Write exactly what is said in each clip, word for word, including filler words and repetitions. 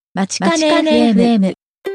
まちかね エフエム。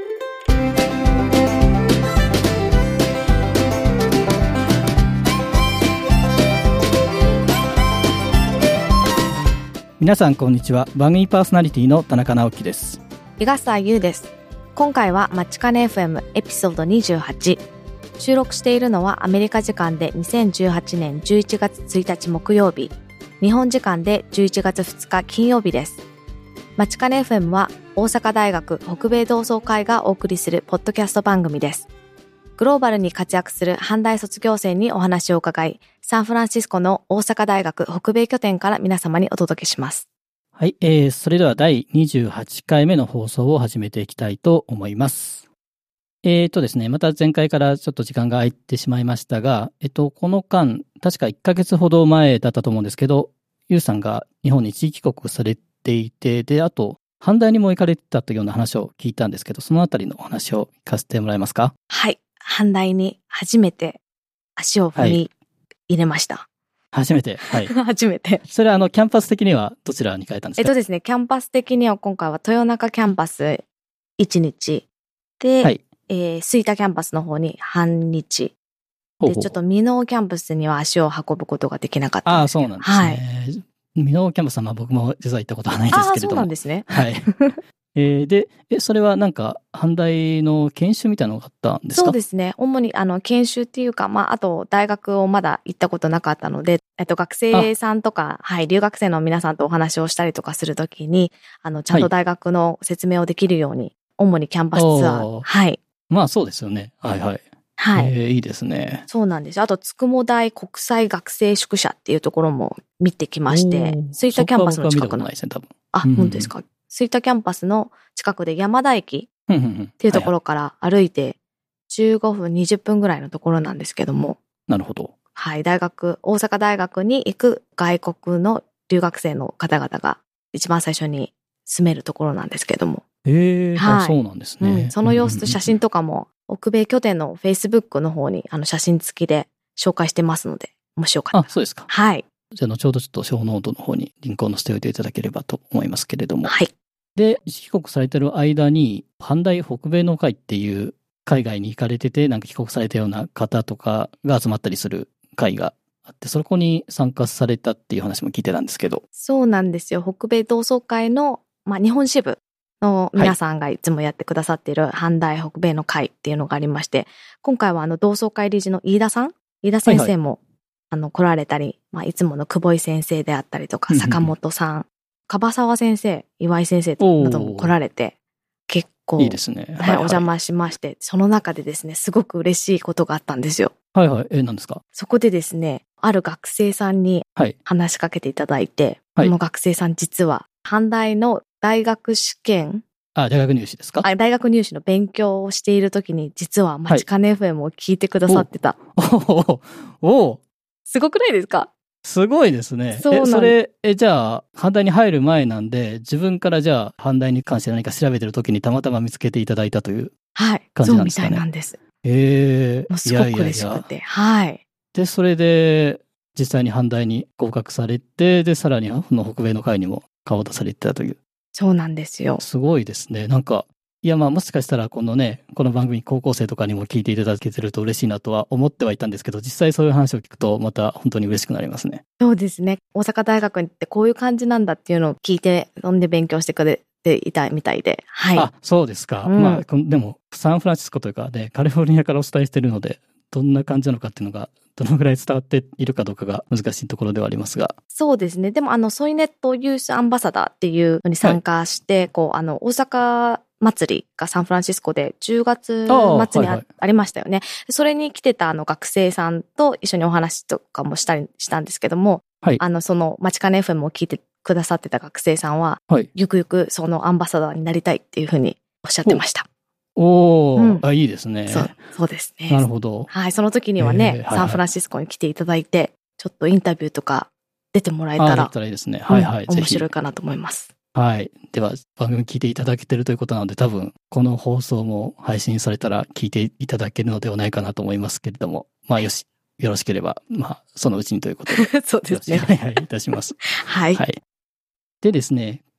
皆さんこんにちは。番組パーソナリティの田中直樹です。 伊賀沢優です。今回はまちかね エフエム エピソードにじゅうはち。収録しているのはアメリカ時間でにせんじゅうはちねんじゅういちがつついたち木曜日、日本時間でじゅういちがつふつか金曜日です。まちかね エフエム は大阪大学北米同窓会がお送りするポッドキャスト番組です。グローバルに活躍する阪大卒業生にお話を伺い、サンフランシスコの大阪大学北米拠点から皆様にお届けします。 はい、えー、それではだいにじゅうはちかいめの放送を始めていきたいと思います。えーとですね、また前回からちょっと時間が空いてしまいましたが、えっと、この間、確かいっかげつほど前だったと思うんですけど、ゆうさんが日本に一時帰国されていて、で、あと、阪大にも行かれてたというような話を聞いたんですけど、そのあたりのお話を聞かせてもらえますか？ はい、阪大に初めて足を踏み入れました。はい、 初めて、はい。 初めて。 それはあの、キャンパス的にはどちらに行かれたんですか？ えっとですね、キャンパス的には今回は豊中キャンパスいちにちで、はい、えー、吹田キャンパスの方に半日。で、ほうほう、ちょっと箕面キャンパスには足を運ぶことができなかったんですけど。 ああ、そうなんですね。はい。箕面キャンパスは僕も実は行ったことはないんですけれども。 ああ、そうなんですね。 はい。えー、で、え、それはなんか、阪大の研修みたいなのがあったんですか？ そうですね。主に、あの、研修っていうか、まあ、あと、大学をまだ行ったことなかったので、えっと、学生さんとか、はい、留学生の皆さんとお話をしたりとかするときに、あの、ちゃんと大学の説明をできるように、はい、主にキャンパスツアー。はい。 まあ、そうですよね。はいはい。 はい。 えー、いいですね。 そうなんです。あと、つくも大国際学生宿舎っていうところも見てきまして、吹田キャンパスの近くの。 ないですね、多分。 あ、うん、本当ですか。吹田キャンパスの近くで山田駅っていうところから歩いてじゅうごふん、にじゅっぷんぐらいのところなんですけども。 なるほど。 はい、大学、大阪大学に行く外国の留学生の方々が一番最初に住めるところなんですけども。 へえ、はい、そうなんですね、 うん。その様子と写真とかも、北米拠点の Facebook の方にあの写真付きで紹介してますので、もしよかったら。 あ、そうですか。 はい。 じゃあ、後ほどちょっと小ノートの方にリンクを載せておいていただければと思いますけれども。 はい。 で、帰国されてる間に、阪大北米の会っていう海外に行かれてて、なんか帰国されたような方とかが集まったりする会があって、そこに参加されたっていう話も聞いてたんですけど。 そうなんですよ。北米同窓会の、まあ、日本支部の皆さんがいつもやってくださっている阪大北米の会っていうのがありまして、今回はあの同窓会理事の飯田さん、飯田先生も、はいはい、あの来られたり、まあ、いつもの久保井先生であったりとか、坂本さん、樺沢先生、岩井先生なども来られて、結構、いいですね。はい、はい、お邪魔しまして、その中でですね、すごく嬉しいことがあったんですよ。 はいはい。え、何ですか？ そこでですね、ある学生さんに話しかけていただいて、はい、この学生さん実は、阪大の大学試験、 あ、大学入試ですか？ あ、大学入試の勉強をしているときに、実はまちかね エフエム を聞いてくださってた。 おおおすごくないですか？ すごいですね。そうなんえ、それ、え、じゃあ、阪大に入る前なんで、自分からじゃあ、阪大に関して何か調べてるときにたまたま見つけていただいたという感じなんですかね。はい、そうみたいなんです。 ええー。すごく嬉しくて。いやいやいやはい。 で、それで、実際に阪大に合格されて、で、さらに、この北米の会にも顔を出されてたという。 そうなんですよ。 すごいですね。なんか、いやまあもしかしたらこのね、この番組高校生とかにも聞いていただけてると嬉しいなとは思ってはいたんですけど、実際そういう話を聞くとまた本当に嬉しくなりますね。 そうですね。大阪大学に行ってこういう感じなんだっていうのを聞いて、そんで勉強してくれていたみたいで。はい。 あ、そうですか。うん、まあでもサンフランシスコというかね、カリフォルニアからお伝えしているので、どんな感じなのかっていうのが、どのぐらい伝わっているかどうかが難しいところではありますが。 そうですね。でもあの、ソイネットユースアンバサダーっていうのに参加して、はい、こう、あの、大阪祭りがサンフランシスコでじゅうがつ末に あ,、はいはい、ありましたよね。それに来てたあの学生さんと一緒にお話とかもしたりしたんですけども、はい、あの、その、まちかね エフエム を聞いてくださってた学生さんは、はい、ゆくゆくそのアンバサダーになりたいっていうふうにおっしゃってました。 おー、うん、あ、いいですね。 そう、そうですね。 なるほど。 はい、その時にはね、えーはいはい、サンフランシスコに来ていただいて、ちょっとインタビューとか出てもらえたら、 あ、だったらいいですね。はいはい、 うん、面白いかなと思います。 はい。では、番組聞いていただけてるということなので、多分、この放送も配信されたら聞いていただけるのではないかなと思いますけれども、まあ、よし、よろしければ、まあ、そのうちにということで。 そうですね。 はいはい、いたします。 はい。 はい。でですね、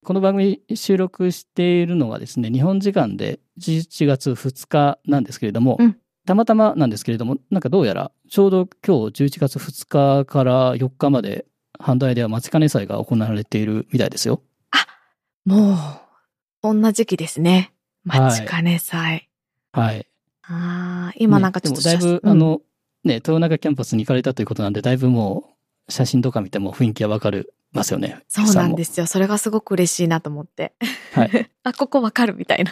この番組収録しているのがですね、日本時間でじゅういちがつふつかなんですけれども、うん、たまたまなんですけれども、なんかどうやらちょうど今日じゅういちがつふつかからよっかまで阪大では待ちかね祭が行われているみたいですよ。 あ、もう、そんな時期ですね。待ちかね祭。 はい。はい、 ああ、今なんかちょっと、 ね、でもだいぶ、うん、あの、ね、豊中キャンパスに行かれたということなんで、だいぶもう写真とか見ても雰囲気はわかるますよね。 そうなんですよ。それがすごく嬉しいなと思って。はい。あ、ここわかるみたいな。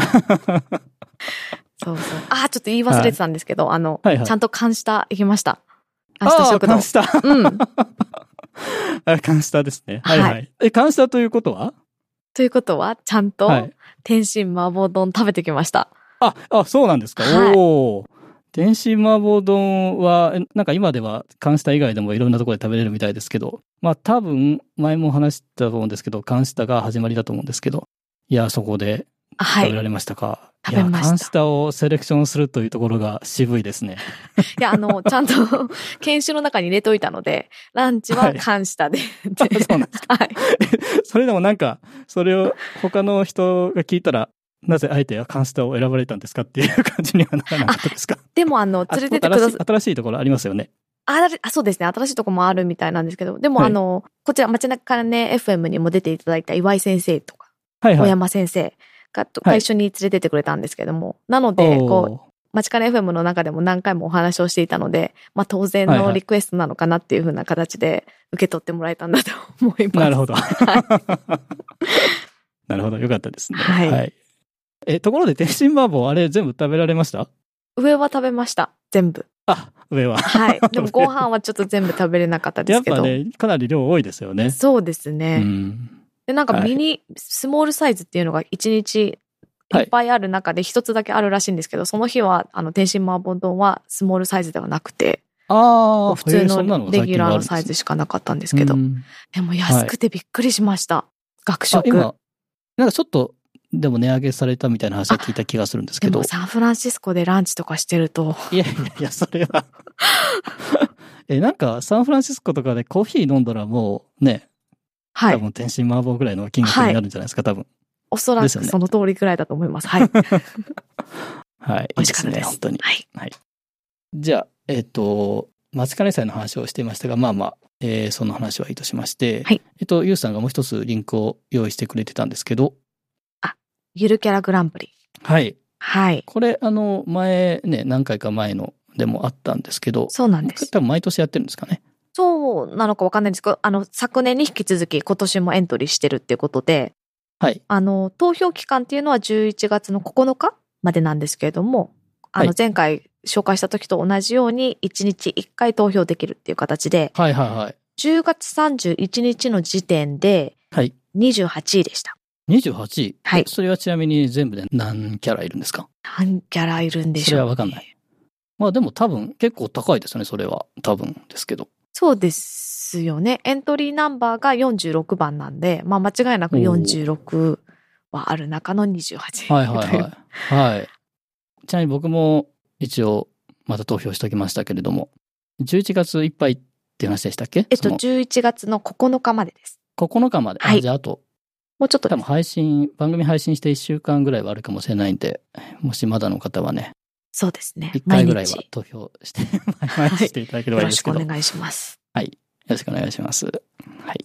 そうそう。あ、ちょっと言い忘れてたんですけど、はい、あの、はいはい、ちゃんと監視行きました。 監視食堂。監視うん。 監視ですね。はいはい。はい、え、監視ということはということは、ちゃんと、天津麻婆丼食べてきました。 あ、あ、そうなんですか。はい、おー。天津麻婆丼は、なんか今では関下以外でもいろんなところで食べれるみたいですけど、まあ多分、前も話したと思うんですけど、関下が始まりだと思うんですけど、いや、そこで食べられましたか。はい、 食べました。 関下をセレクションするというところが渋いですね。 いや、あの、ちゃんと研修の中に入れといたので、ランチは関下で。 はい、そうなんですか。はい。それでもなんか、それを他の人が聞いたら、なぜあえて関下を選ばれたんですかっていう感じにはならなかったですか？ でもあの、連れてってください。 新しいところありますよね。 あ、そうですね。新しいところもあるみたいなんですけど、でもあの、はい、こちら、街中ね エフエム にも出ていただいた岩井先生とか、はいはい、小山先生が、はい、一緒に連れてってくれたんですけども、なので、こう、街中 エフエム の中でも何回もお話をしていたので、まあ当然のリクエストなのかなっていう風な形で受け取ってもらえたんだと思います。 なるほど。はい、なるほど。よかったですね。はい、はい。え、ところで天津麻婆あれ全部食べられました？ 上は食べました。全部。 あ、上は。 はい。でもご飯はちょっと全部食べれなかったですけど。 やっぱね、かなり量多いですよね。 そうですね。うん、で、なんかミニ、はい、スモールサイズっていうのがいちにちいっぱいある中で一つだけあるらしいんですけど、はい、その日は、あの、天津麻婆丼はスモールサイズではなくて、 ああ、 普通のレギュラーのサイズしかなかったんですけど、でも安くてびっくりしました。はい、学食。 今、なんかちょっと、でも値上げされたみたいな話は聞いた気がするんですけど。 でもサンフランシスコでランチとかしてると。 いやいやいや、それは。え、なんかサンフランシスコとかでコーヒー飲んだらもうね、はい。多分天津麻婆ぐらいの金額になるんじゃないですか、はい、多分。 おそらくその通りぐらいだと思います。はい。 はい。 美味しかったです。 いいですね、本当に。 はい。 はい。じゃあ、えっ、ー、と、待ちかね祭の話をしていましたが、まあまあ、えー、その話はいいとしまして、はい。えっと、ゆうさんがもう一つリンクを用意してくれてたんですけど、 ゆるキャラグランプリ。 はい。 はい。 これ、あの、前ね、何回か前のでもあったんですけど。 そうなんです。 多分毎年やってるんですかね。 そうなのかわかんないんですけど、あの、昨年に引き続き今年もエントリーしてるっていうことで、 はい。 あの、投票期間っていうのはじゅういちがつのここのかまでなんですけれども、あの、前回紹介した時と同じようにいちにちいっかい投票できるっていう形で、 はいはいはい。 じゅうがつさんじゅういちにちの時点で、 はい。 にじゅうはちいでした。 にじゅうはちい？ はい。 それはちなみに全部で何キャラいるんですか？ 何キャラいるんでしょう、ね。 それはわかんない。まあでも多分結構高いですね、それは。多分ですけど。 そうですよね。エントリーナンバーがよんじゅうろくばんなんで、まあ間違いなくよんじゅうろくはある中のにじゅうはち。 はいはいはい。はい。ちなみに僕も一応また投票しておきましたけれども、じゅういちがついっぱいって話でしたっけ？ えっと、じゅういちがつのここのかまでです。 ここのかまで。 はい。 あ、じゃああと。 もうちょっと多分配信、番組配信していっしゅうかんぐらいはあるかもしれないんで、もしまだの方はね。 そうですね。 いっかいぐらいは投票して、毎日していただければいいですけど、 はい。よろしくお願いします。 はい。よろしくお願いします。はい。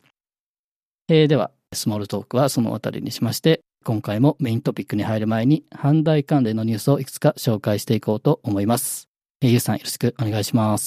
えー、では、スモールトークはそのあたりにしまして、今回もメイントピックに入る前に、阪大関連のニュースをいくつか紹介していこうと思います。えー、ゆうさんよろしくお願いします。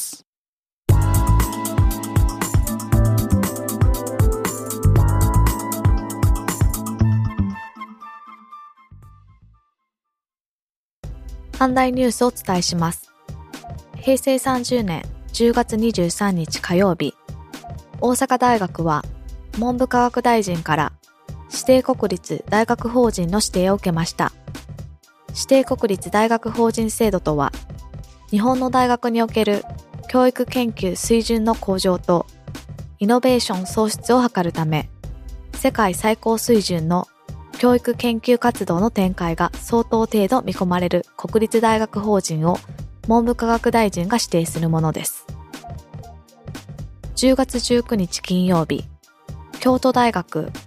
阪大ニュースをお伝えします。へいせいさんじゅうねんじゅうがつにじゅうさんにち火曜日、大阪大学は文部科学大臣から指定国立大学法人の指定を受けました。指定国立大学法人制度とは、日本の大学における教育研究水準の向上とイノベーション創出を図るため、世界最高水準の教育研究活動の展開が相当程度見込まれる国立大学法人を文部科学大臣が指定するものです。じゅうがつじゅうくにち金曜日、京都大学、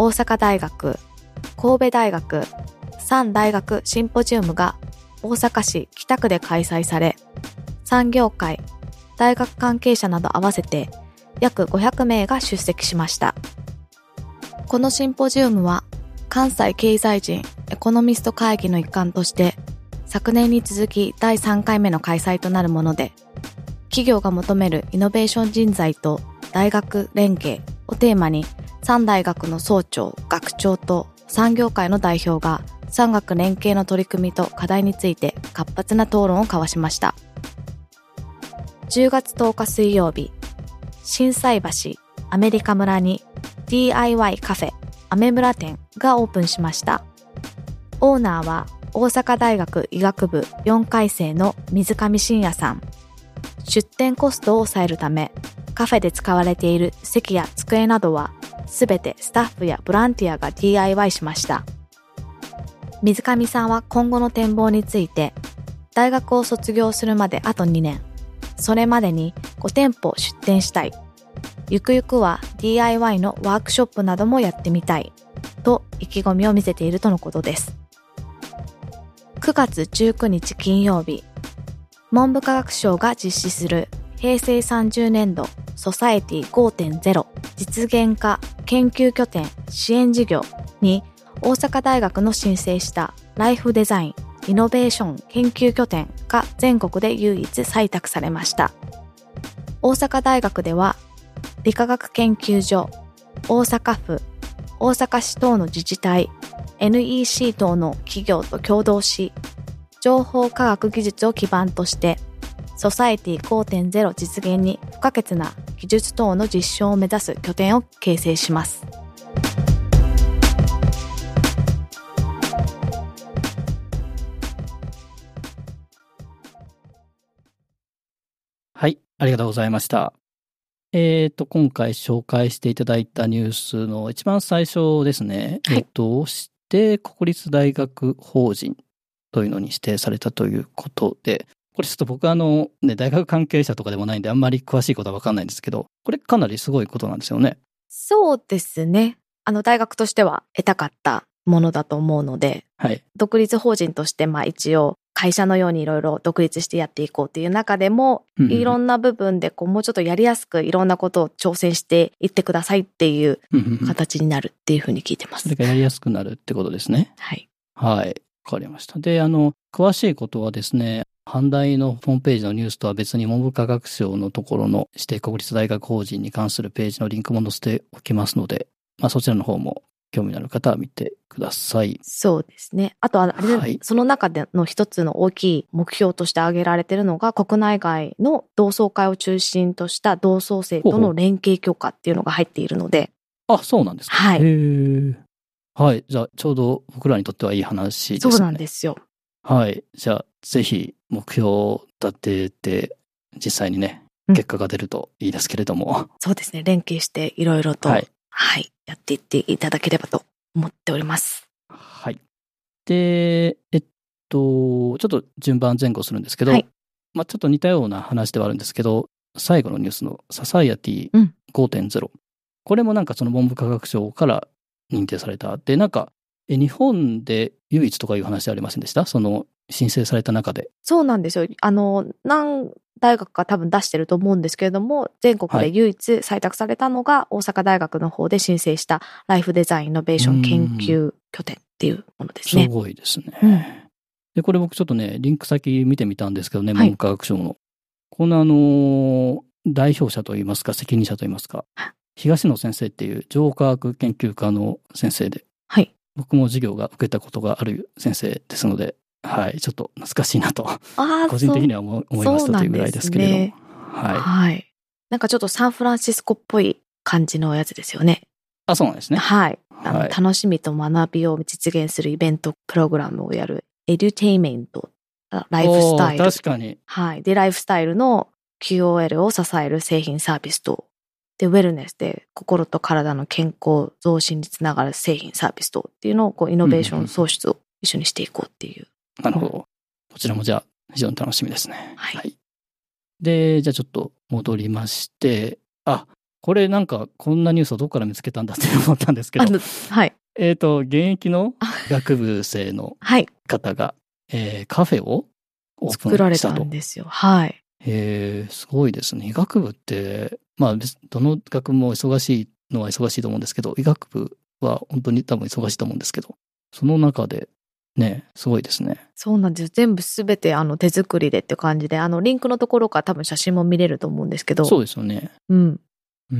大阪大学、神戸大学、さん大学シンポジウムが大阪市北区で開催され、産業界、大学関係者など合わせて約ごひゃくめいが出席しました。このシンポジウムは関西経済人エコノミスト会議の一環として昨年に続きだいさんかいめの開催となるもので、企業が求めるイノベーション人材と大学連携をテーマにさん大学の総長、学長と産業界の代表が産学連携の取り組みと課題について活発な討論を交わしました。じゅうがつとおか水曜日、心斎橋アメリカ村に ディーアイワイ カフェアメ村店がオープンしました。オーナーは大阪大学医学部よんかい生の水上信也さん。出店コストを抑えるため、カフェで使われている席や机などはすべてスタッフやボランティアが ディーアイワイ しました。水上さんは今後の展望について、大学を卒業するまであとにねん、それまでにごてんぽ出店したい。ゆくゆくは ディーアイワイ のワークショップなどもやってみたいと意気込みを見せているとのことです。くがつじゅうくにち金曜日、文部科学省が実施するへいせいさんじゅうねんどソサエティ ごてんゼロ 実現化研究拠点支援事業に大阪大学の申請したライフデザインイノベーション研究拠点が全国で唯一採択されました。大阪大学では理化学研究所、大阪府、大阪市等の自治体、エヌイーシー 等の企業と共同し、情報科学技術を基盤として、ソサエティ ごてんゼロ 実現に不可欠な技術等の実証を目指す拠点を形成します。 はい、ありがとうございました。えっと、今回紹介していただいたニュースの一番最初ですね。 はい、 えっと、指定国立大学法人というのに指定されたということで、これちょっと僕あの、ね、大学関係者とかでもないんであんまり詳しいことはわかんないんですけど、これかなりすごいことなんですよね。 そうですね。あの、大学としては得たかったものだと思うので、 はい、 独立法人としてまあ一応会社のようにいろいろ独立してやっていこうっていう中でも、うんうん、いろんな部分でこうもうちょっとやりやすくいろんなことを挑戦していってくださいっていう形になるっていうふうに聞いてます。 それがやりやすくなるってことですね。 はい。 はい。わかりました。で、あの、詳しいことはですね、阪大のホームページのニュースとは別に文部科学省のところの指定国立大学法人に関するページのリンクも載せておきますので、まあそちらの方も興味のある方は見てください。 そうですね。あとはあれ、はい、その中での一つの大きい目標として挙げられているのが、国内外の同窓会を中心とした同窓生との連携強化っていうのが入っているので。 あ、そうなんですか。 はい。 へー。はい。じゃあ、ちょうど僕らにとってはいい話ですね。 そうなんですよ。 はい。じゃあ、ぜひ目標を立てて、実際にね、結果が出るといいですけれども。うん、 そうですね。連携していろいろと、はい、はい、やっていっていただければと思っております。 はい。で、えっと、ちょっと順番前後するんですけど、はい、まあちょっと似たような話ではあるんですけど、最後のニュースのソサイエティ ごてんゼロ、うん、これもなんかその文部科学省から認定された。で、なんか、え日本で唯一とかいう話ありませんでした？その申請された中で。 そうなんですよ。あの、何大学か多分出してると思うんですけれども、全国で唯一採択されたのが大阪大学の方で申請したライフデザインイノベーション研究拠点っていうものですね。 すごいですね。 うん、 で、これ僕ちょっとね、リンク先見てみたんですけどね、文部科学省の。はい、このあの、代表者といいますか、責任者といいますか、東野先生っていう情科学研究科の先生で、 はい、 僕も授業が受けたことがある先生ですので、はい、ちょっと懐かしいなと、個人的には思いましたというぐらいですけれども。ね、はい。 はい。なんかちょっとサンフランシスコっぽい感じのやつですよね。 あ、そうなんですね。 はい。あの、はい、楽しみと学びを実現するイベントプログラムをやるエデュテイメント、ライフスタイル。 確かに。 はい。で、ライフスタイルの キューオーエル を支える製品サービスと、で、ウェルネスで心と体の健康増進につながる製品サービスとっていうのをこうイノベーション創出を一緒にしていこうっていう。 なるほど。こちらもじゃあ非常に楽しみですね。 はい。はい、 で、じゃあちょっと戻りまして、あ、 これなんかこんなニュースをどこから見つけたんだって思ったんですけど、 あの、はい。 えっと、現役の医学部生のはい。 方が、えーカフェをオープ作られンしたと。 たんですよ。はい。 へーすごいですね。医学部って、まあ、別どの学部も忙しいのは忙しいと思うんですけど、医学部は本当に多分忙しいと思うんですけど、その中で、ね、すごいですね。 そうなんです。全部すべてあの手作りでって感じで、あのリンクのところから多分写真も見れると思うんですけど。 そうですよね。 うん。 うん。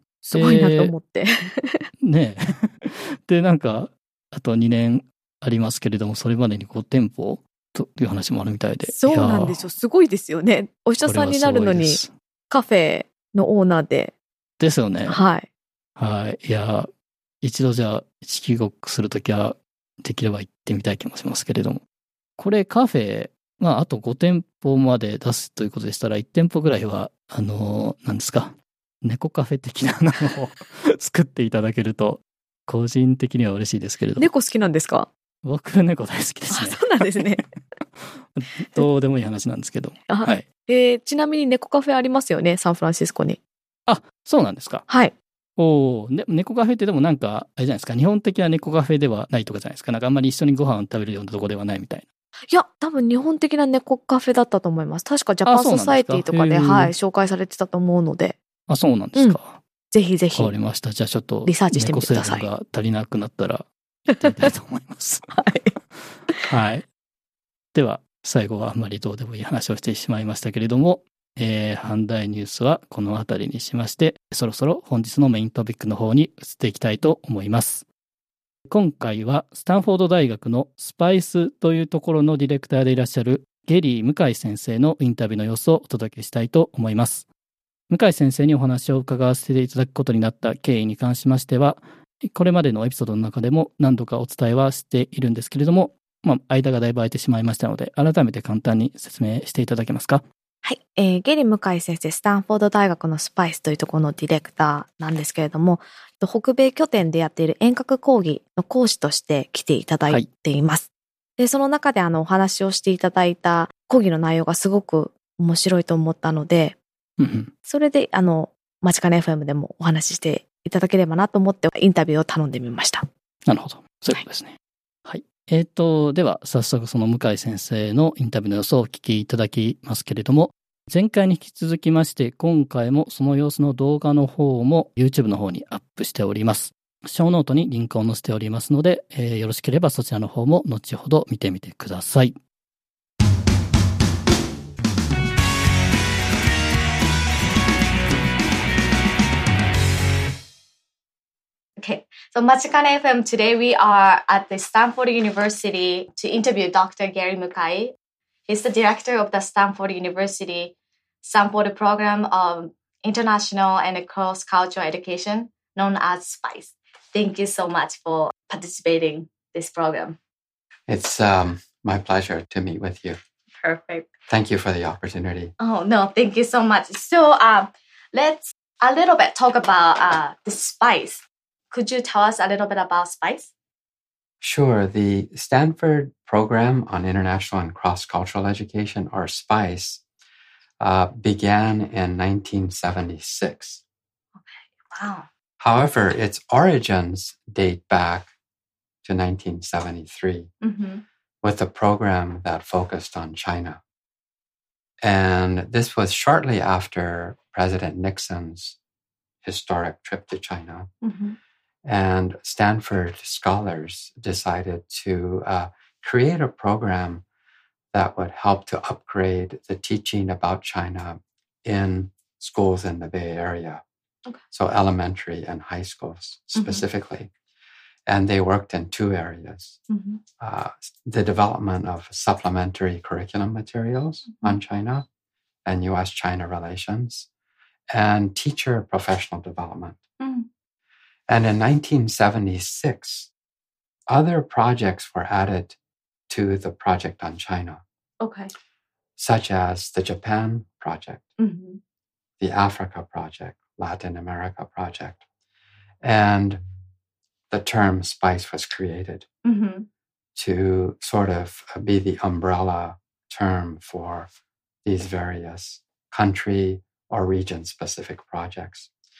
すごいなと思って。 ねで、なんか、あとにねんありますけれども、それまでにご店舗という話もあるみたいで。 そうなんですよ。すごいですよね。お医者さんになるのにカフェのオーナーで。 ですよね。 はい。 はい。いや、一度じゃあ、一帰国するときは、できれば行ってみたい気もしますけれども。これカフェ、まあ、あとご店舗まで出すということでしたら、いち店舗ぐらいは、あの、何ですか、猫カフェ的なのを作っていただけると、個人的には嬉しいですけれども。 猫好きなんですか？ 僕、猫大好きですね。 あ、そうなんですね。 どうでもいい話なんですけど。はい。 えー、ちなみに猫カフェありますよね、サンフランシスコに。 あ、そうなんですか。 はい。 おお、ね、猫カフェってでもなんか、あれじゃないですか、日本的な猫カフェではないとかじゃないですか。なんかあんまり一緒にご飯を食べるようなとこではないみたいな。 いや、多分日本的な猫カフェだったと思います。確かジャパンソサエティとかで、はい、紹介されてたと思うので。 あ、そうなんですか。うん、 ぜひぜひ。 わかりました。じゃあちょっと、 リサーチしてみてください。 猫成分が足りなくなったら、行ってみたいと思います。 はい。 はい。では、最後はあんまりどうでもいい話をしてしまいましたけれども、えー、阪大ニュースはこの辺りにしまして、そろそろ本日のメイントピックの方に移っていきたいと思います。今回はスタンフォード大学のスパイスというところのディレクターでいらっしゃるゲリー向井先生のインタビューの様子をお届けしたいと思います。向井先生にお話を伺わせていただくことになった経緯に関しましては、これまでのエピソードの中でも何度かお伝えはしているんですけれども、まあ、間がだいぶ空いてしまいましたので、改めて簡単に説明していただけますか？ はい、えー、ゲリ向井先生、スタンフォード大学のスパイスというところのディレクターなんですけれども、北米拠点でやっている遠隔講義の講師として来ていただいています。はい、で、その中であのお話をしていただいた講義の内容がすごく面白いと思ったので、 うんうん、 それであの、マチカネ エフエム でもお話ししていただければなと思ってインタビューを頼んでみました。 なるほど。そういうことですね。はい。はい、えっと、では早速その向井先生のインタビューの様子をお聞きいただきますけれども、前回に引き続きまして今回もその様子の動画の方も YouTube の方にアップしております。ショーノートにリンクを載せておりますので、えー、よろしければそちらの方も後ほど見てみてください。 Okay, so Machikane エフエム today we are at the Stanford University to interview Doctor Gary Mukai. He's the director of the Stanford University Stanford program of international and cross-cultural education known as SPICE. Thank you so much for participating in this program. It's um, my pleasure to meet with you. Perfect. Thank you for the opportunity. Oh, no, thank you so much. So um, let's a little bit talk about uh, the SPICE. Could you tell us a little bit about SPICE? Sure. The Stanford Program on International and Cross-Cultural Education, or SPICE, uh, began in nineteen seventy-six. Okay, wow. However, its origins date back to nineteen seventy-three mm-hmm. with a program that focused on China. And this was shortly after President Nixon's historic trip to China. Mm-hmm. And Stanford scholars decided to uh, create a program that would help to upgrade the teaching about China in schools in the Bay Area. Okay. So elementary and high schools specifically. Mm-hmm. And they worked in two areas. Mm-hmm. Uh, the development of supplementary curriculum materials mm-hmm. on China and U S China relations, and teacher professional development. Mm-hmm. And in nineteen seventy-six, other projects were added to the project on China. Okay. Such as the Japan project, mm-hmm. the Africa project, Latin America project. And the term SPICE was created mm-hmm. to sort of be the umbrella term for these various country or region-specific projects.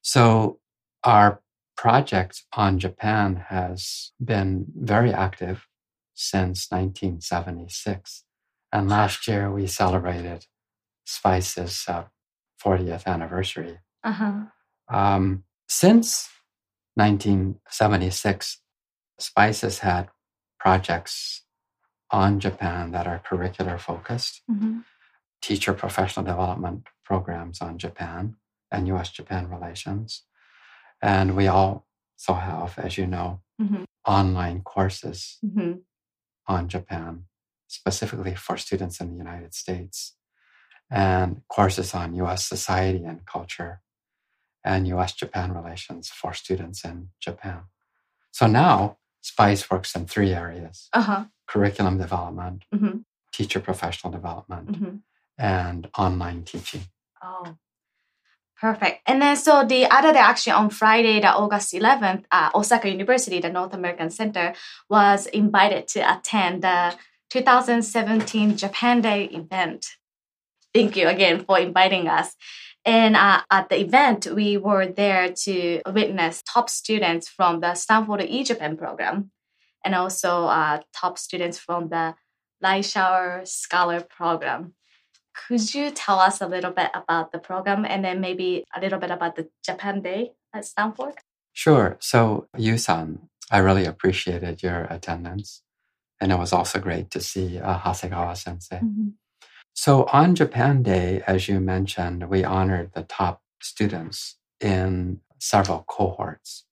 So our project on Japan has been very active since nineteen seventy-six. And last year we celebrated SPICE's uh, fortieth anniversary. Uh-huh. Um, since nineteen seventy-six, SPICE has had projects on Japan that are curricular focused, Mm-hmm. teacher professional development programs on Japan and U S Japan relations. And we also have, as you know, Mm-hmm. online courses Mm-hmm. on Japan, specifically for students in the United States, and courses on U S society and culture and U S Japan relations for students in Japan. So now SPICE works in three areas: Uh-huh. curriculum development, Mm-hmm. teacher professional development, Mm-hmm. and online teaching. Oh, perfect. And then so the other day, actually on Friday, the August eleventh, uh, Osaka University, the North American Center, was invited to attend the two thousand seventeen Japan Day event. Thank you again for inviting us. And uh, at the event, we were there to witness top students from the Stanford E-Japan program, and also uh, top students from the Reischauer Scholar program. Could you tell us a little bit about the program and then maybe a little bit about the Japan Day at Stanford? Sure. So, Yu-san, I really appreciated your attendance. And it was also great to see uh, Hasegawa sensei. Mm-hmm. So on Japan Day, as you mentioned, we honored the top students in several cohorts.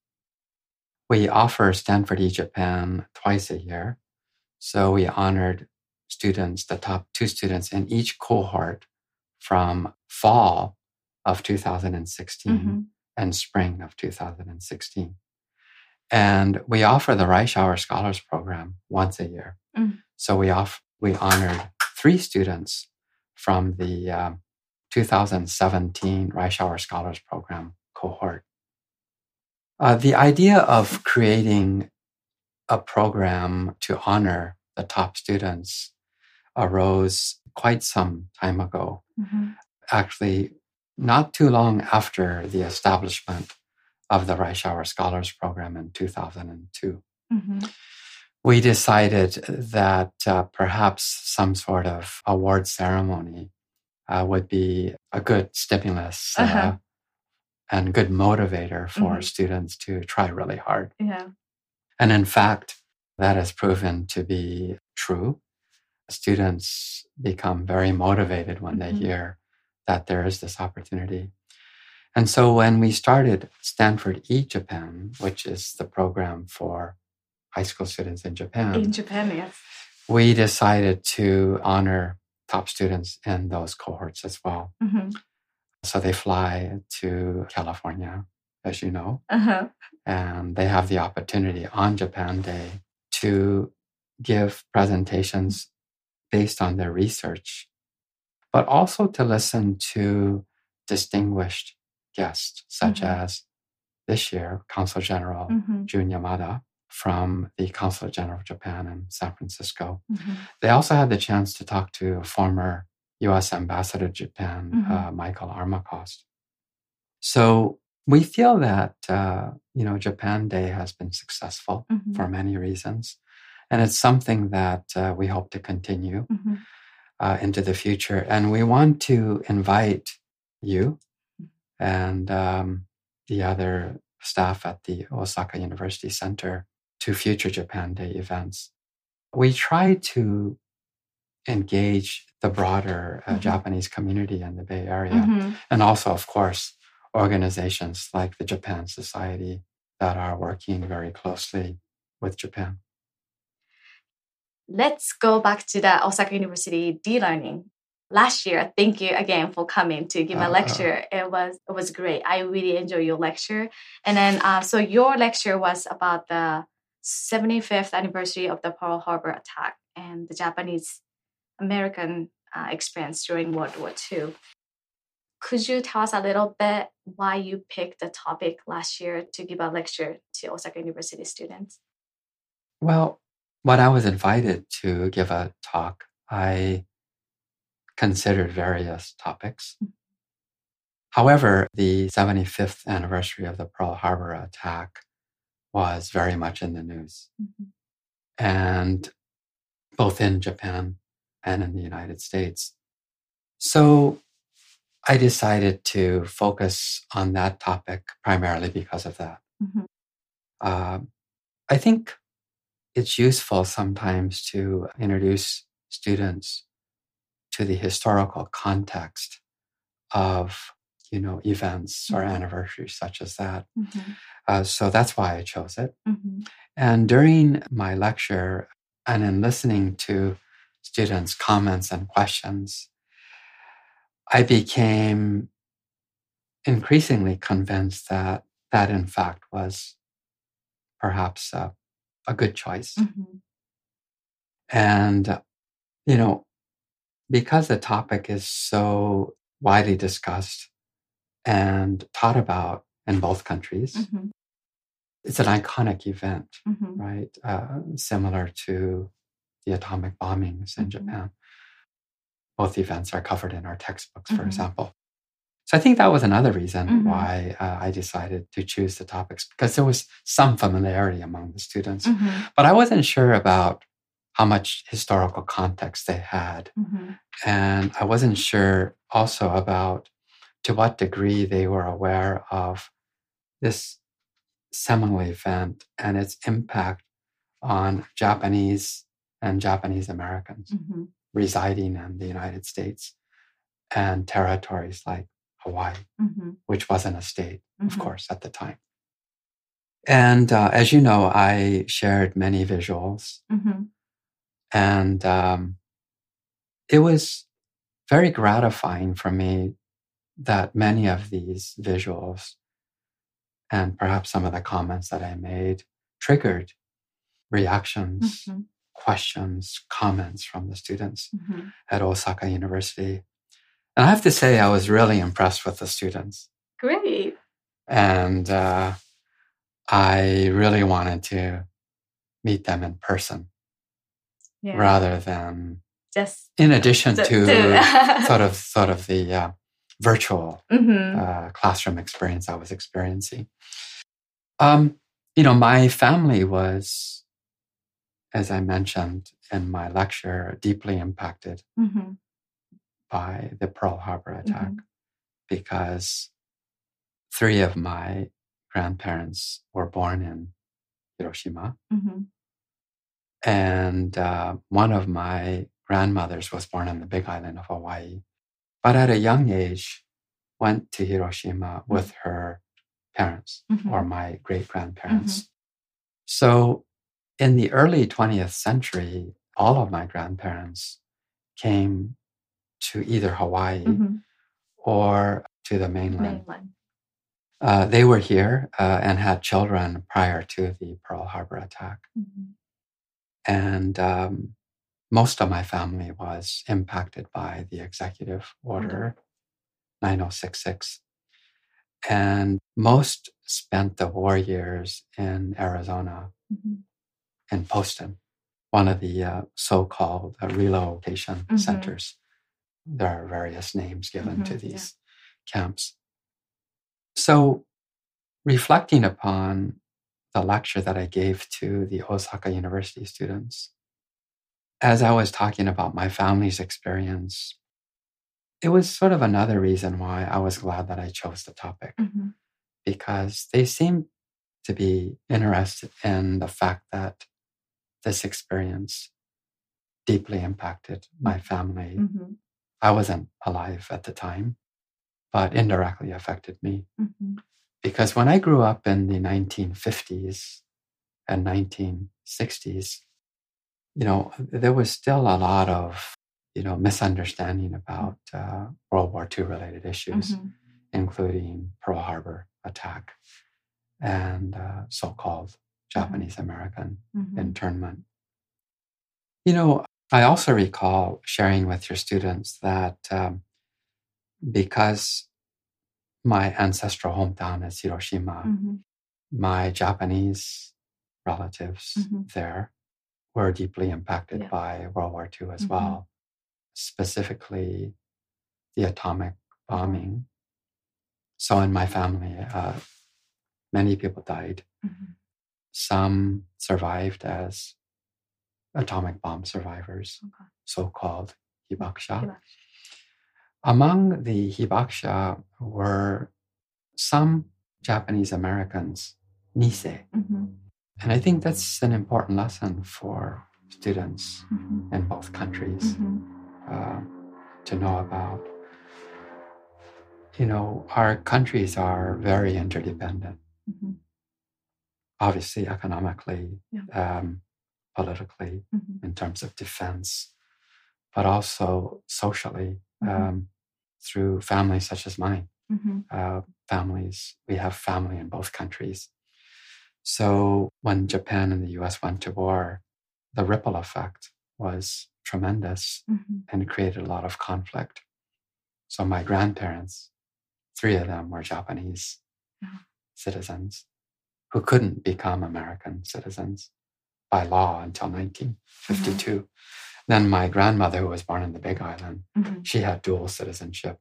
We offer Stanford E-Japan twice a year. So we honored students, the top two students in each cohort from fall of two thousand sixteen Mm-hmm. and spring of two thousand sixteen. And we offer the Reischauer Scholars Program once a year. Mm. So we off, we honored three students from the um, two thousand seventeen Reischauer Scholars Program cohort. Uh, the idea of creating a program to honor the top students arose quite some time ago. Mm-hmm. Actually, not too long after the establishment of the Reischauer Scholars Program in two thousand two. Mm-hmm. We decided that uh, perhaps some sort of award ceremony uh, would be a good stimulus uh, Uh-huh. and good motivator for Mhm. students to try really hard. Yeah. And in fact, that has proven to be true. Students become very motivated when they Mhm. hear that there is this opportunity. And so when we started Stanford E-Japan, which is the program for high school students in Japan, In Japan, yes. we decided to honor top students in those cohorts as well. Mm-hmm. So they fly to California, as you know, Uh-huh. and they have the opportunity on Japan Day to give presentations based on their research, but also to listen to distinguished guests, such Mhm. as this year, Consul General Mm-hmm. Jun Yamada from the Consulate General of Japan in San Francisco. Mm-hmm. They also had the chance to talk to former U S Ambassador to Japan, Mhm. uh, Michael Armacost. So we feel that, uh, you know, Japan Day has been successful Mm-hmm. for many reasons. And it's something that uh, we hope to continue Mm-hmm. uh, into the future. And we want to invite you and um, the other staff at the Osaka University Center to future Japan Day events. We try to engage the broader uh, Mhm. Japanese community in the Bay Area, Mm-hmm. and also, of course, organizations like the Japan Society that are working very closely with Japan. Let's go back to the Osaka University D-Learning. Last year, thank you again for coming to give a Uh, lecture. It was it was great. I really enjoyed your lecture. And then, uh, so your lecture was about the seventy-fifth anniversary of the Pearl Harbor attack and the Japanese-American uh, experience during World War Two. Could you tell us a little bit why you picked the topic last year to give a lecture to Osaka University students? Well, when I was invited to give a talk, I considered various topics. However, the seventy-fifth anniversary of the Pearl Harbor attack was very much in the news. Mm-hmm. And both in Japan and in the United States. So I decided to focus on that topic primarily because of that. Mm-hmm. Uh, I think it's useful sometimes to introduce students to the historical context of, you know, events mm-hmm. or anniversaries such as that. Mm-hmm. Uh, so that's why I chose it. Mm-hmm. And during my lecture, and in listening to students' comments and questions, I became increasingly convinced that that, in fact, was perhaps a, a good choice. Mm-hmm. And, you know, because the topic is so widely discussed and taught about in both countries, mm-hmm. it's an iconic event, mm-hmm. right? Uh, similar to the atomic bombings in mm-hmm. Japan. Both events are covered in our textbooks, for mm-hmm. example. So I think that was another reason mm-hmm. why uh, I decided to choose the topics, because there was some familiarity among the students. Mm-hmm. But I wasn't sure about how much historical context they had. Mm-hmm. And I wasn't sure also about to what degree they were aware of this seminal event and its impact on Japanese and Japanese Americans mm-hmm. residing in the United States and territories like Hawaii, mm-hmm. which wasn't a state, mm-hmm. of course, at the time. And uh, as you know, I shared many visuals. Mm-hmm. And um, it was very gratifying for me that many of these visuals and perhaps some of the comments that I made triggered reactions, mm-hmm. questions, comments from the students mm-hmm. at Osaka University. And I have to say, I was really impressed with the students. Great. And uh, I really wanted to meet them in person yeah. rather than just in addition to, to sort of sort of the uh, virtual mm-hmm. uh, classroom experience I was experiencing. Um, you know, my family was, as I mentioned in my lecture, deeply impacted mm-hmm. by the Pearl Harbor attack mm-hmm. because three of my grandparents were born in Hiroshima. Mm-hmm. And uh, one of my grandmothers was born on the Big Island of Hawaii, but at a young age went to Hiroshima mm-hmm. with her parents mm-hmm. or my great-grandparents. Mm-hmm. So in the early twentieth century, all of my grandparents came to either Hawaii mm-hmm. or to the mainland. mainland. Uh, they were here uh, and had children prior to the Pearl Harbor attack. Mm-hmm. And um, most of my family was impacted by the executive order mm-hmm. nine oh six six. And most spent the war years in Arizona, mm-hmm. in Poston, one of the uh, so-called uh, relocation mm-hmm. centers. There are various names given mm-hmm, to these yeah. camps. So reflecting upon the lecture that I gave to the Osaka University students, as I was talking about my family's experience, it was sort of another reason why I was glad that I chose the topic, mm-hmm. because they seemed to be interested in the fact that this experience deeply impacted my family. Mm-hmm. I wasn't alive at the time, but indirectly affected me. Mm-hmm. Because when I grew up in the nineteen fifties and nineteen sixties, you know, there was still a lot of, you know, misunderstanding about uh, World War Two related issues, mm-hmm. including Pearl Harbor attack and uh, so-called Japanese American mm-hmm. internment. You know, I also recall sharing with your students that um, because my ancestral hometown is Hiroshima, mm-hmm. my Japanese relatives mm-hmm. there were deeply impacted yeah. by World War Two as mm-hmm. well, specifically the atomic bombing So in my family, uh, many people died. Mm-hmm. Some survived as atomic bomb survivors, Okay. so-called hibakusha. Hibakusha. Among the hibakusha were some Japanese Americans, Nisei. Mm-hmm. And I think that's an important lesson for students Mm-hmm. in both countries Mm-hmm. uh, to know about. You know, our countries are very interdependent, Mm-hmm. obviously economically, Yeah. um, politically, Mm-hmm. in terms of defense, but also socially um, Mm-hmm. through families such as mine. Mm-hmm. Uh, families, we have family in both countries. So when Japan and the U S went to war, the ripple effect was tremendous Mm-hmm. and created a lot of conflict. So my grandparents, three of them were Japanese Yeah. citizens who couldn't become American citizens by law until nineteen fifty-two. Mm-hmm. Then my grandmother, who was born in the Big Island, Mm-hmm. she had dual citizenship.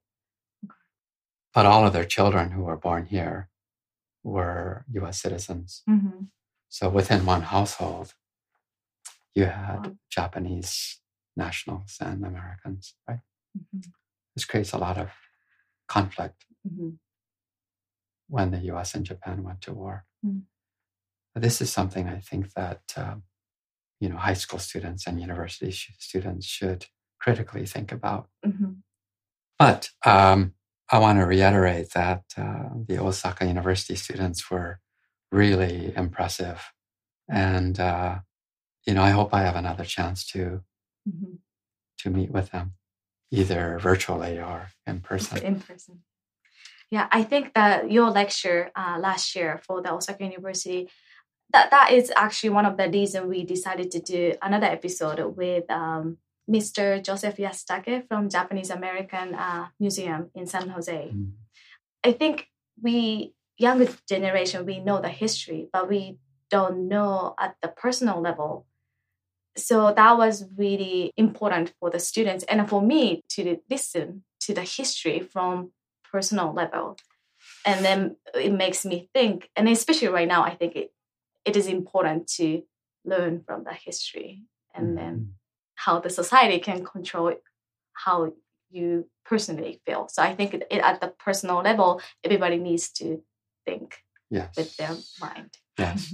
But all of their children who were born here were U S citizens. Mm-hmm. So within one household, you had Wow. Japanese nationals and Americans, right? Mm-hmm. This creates a lot of conflict Mm-hmm. when the U S and Japan went to war. Mm-hmm. But this is something I think that um, you know, high school students and university sh- students should critically think about. Mm-hmm. But um, I want to reiterate that uh, the Osaka University students were really impressive. And, uh, you know, I hope I have another chance to Mm-hmm. to meet with them, either virtually or in person. In person. Yeah, I think that your lecture uh, last year for the Osaka University, that, that is actually one of the reasons we decided to do another episode with um, Mister Joseph Yasutake from Japanese American uh, Museum in San Jose. Mm. I think we, younger generation, we know the history, but we don't know at the personal level. So that was really important for the students and for me to listen to the history from personal level. And then it makes me think, and especially right now, I think it, it is important to learn from the history and Mm-hmm. then how the society can control how you personally feel. So I think it, it, at the personal level, everybody needs to think Yes. with their mind. Yes.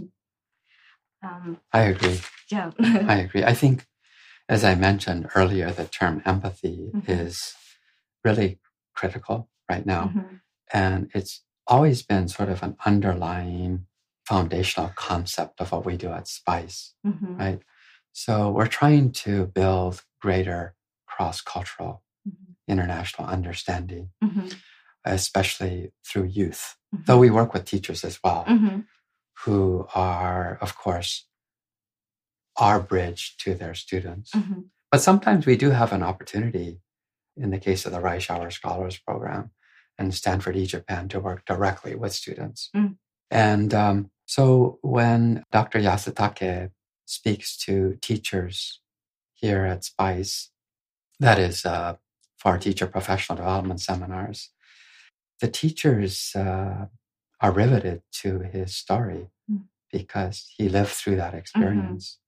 um, I agree. yeah. I agree. I think, as I mentioned earlier, the term empathy Mhm. is really critical right now. Mhm. And it's always been sort of an underlying foundational concept of what we do at SPICE, Mhm. right? So we're trying to build greater cross-cultural Mhm. international understanding, Mhm. especially through youth. Mhm. Though we work with teachers as well, Mhm. who are, of course, our bridge to their students. Mhm. But sometimes we do have an opportunity, in the case of the Reischauer Scholars Program and Stanford eJapan, to work directly with students. Mm. And um, so when Doctor Yasutake speaks to teachers here at SPICE, that is uh, for our teacher professional development seminars, the teachers uh, are riveted to his story Mm. because he lived through that experience.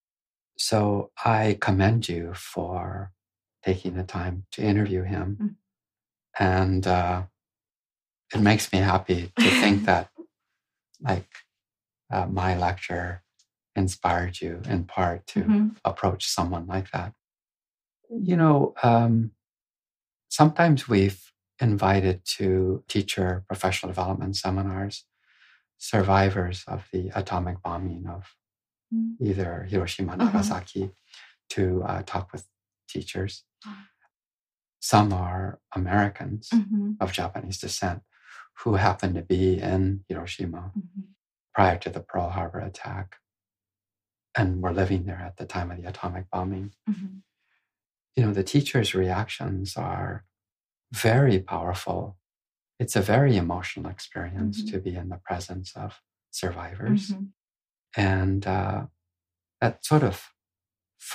So I commend you for taking the time to interview him. Mm. And uh, it makes me happy to think that, like, uh, my lecture inspired you in part to Mhm. approach someone like that. You know, um, sometimes we've invited to teacher professional development seminars survivors of the atomic bombing of Mm. either Hiroshima and Uh-huh. Nagasaki to uh, talk with teachers. Wow. Some are Americans Mhm. of Japanese descent who happened to be in Hiroshima Mhm. prior to the Pearl Harbor attack and were living there at the time of the atomic bombing. Mhm. You know, the teachers' reactions are very powerful. It's a very emotional experience Mhm. to be in the presence of survivors. Mhm. And uh, that sort of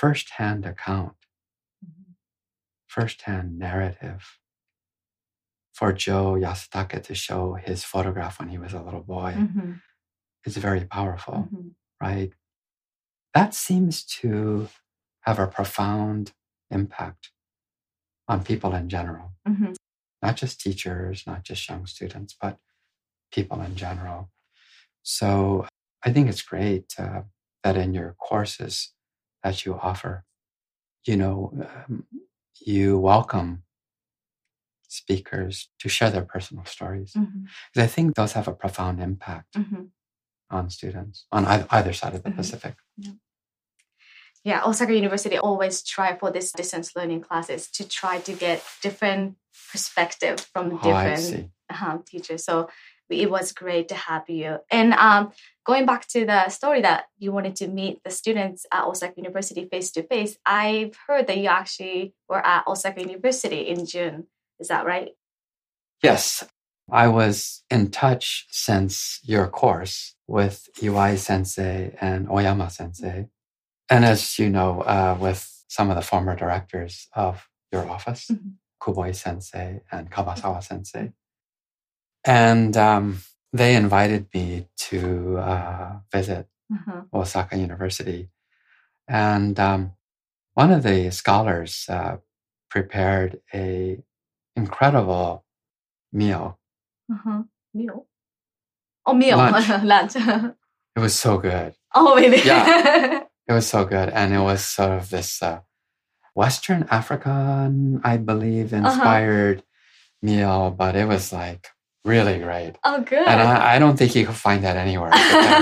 firsthand account, Mhm. firsthand narrative for Joe Yasutake to show his photograph when he was a little boy Mm-hmm. is very powerful, Mm-hmm. right? That seems to have a profound impact on people in general, Mm-hmm. not just teachers, not just young students, but people in general. So I think it's great uh, that in your courses that you offer, you know, um, you welcome speakers to share their personal stories. Mm-hmm. Because I think those have a profound impact Mm-hmm. on students on either, either side of the Mm-hmm. Pacific. Yeah. Yeah, Osaka University always try for this distance learning classes to try to get different perspective from Oh, I different see. um, teachers. So it was great to have you. And um, going back to the story that you wanted to meet the students at Osaka University face to face, I've heard that you actually were at Osaka University in June. Is that right? Yes, I was in touch since your course with Iwai Sensei and Oyama Sensei. And as you know, uh, with some of the former directors of your office, Mm-hmm. Kuboi Sensei and Kabasawa Sensei. And um, they invited me to uh, visit Uh-huh. Osaka University. And um, one of the scholars uh, prepared a incredible meal. Uh-huh. Meal? Oh, meal. Lunch. Lunch. It was so good. Oh, really? Yeah. It was so good. And it was sort of this uh, Western African, I believe, inspired uh-huh. meal, but it was like really great. Oh, good. And I, I don't think you could find that anywhere.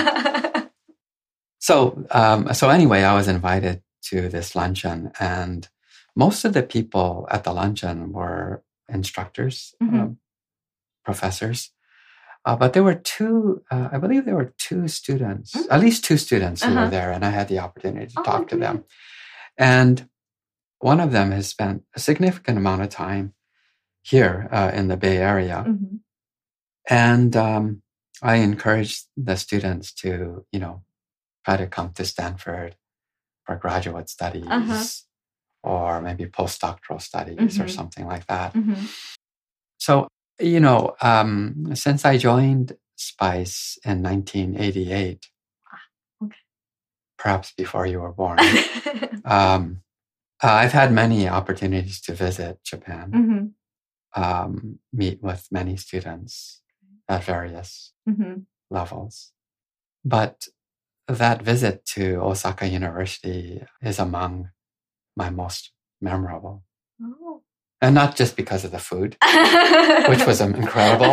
so, um, so anyway, I was invited to this luncheon, and most of the people at the luncheon were instructors, Mm-hmm. um, professors. Uh, but there were two, uh, I believe there were two students, mm-hmm. at least two students who uh-huh. were there, and I had the opportunity to oh, talk to good. them. And one of them has spent a significant amount of time here uh, in the Bay Area. Mm-hmm. And um, I encouraged the students to, you know, try to come to Stanford for graduate studies uh-huh. or maybe postdoctoral studies mm-hmm. or something like that. Mm-hmm. So, you know, um, since I joined SPICE in nineteen eighty-eight, okay. perhaps before you were born, um, uh, I've had many opportunities to visit Japan, mm-hmm. um, meet with many students at various mm-hmm. levels. But that visit to Osaka University is among my most memorable. Oh. And not just because of the food, which was incredible,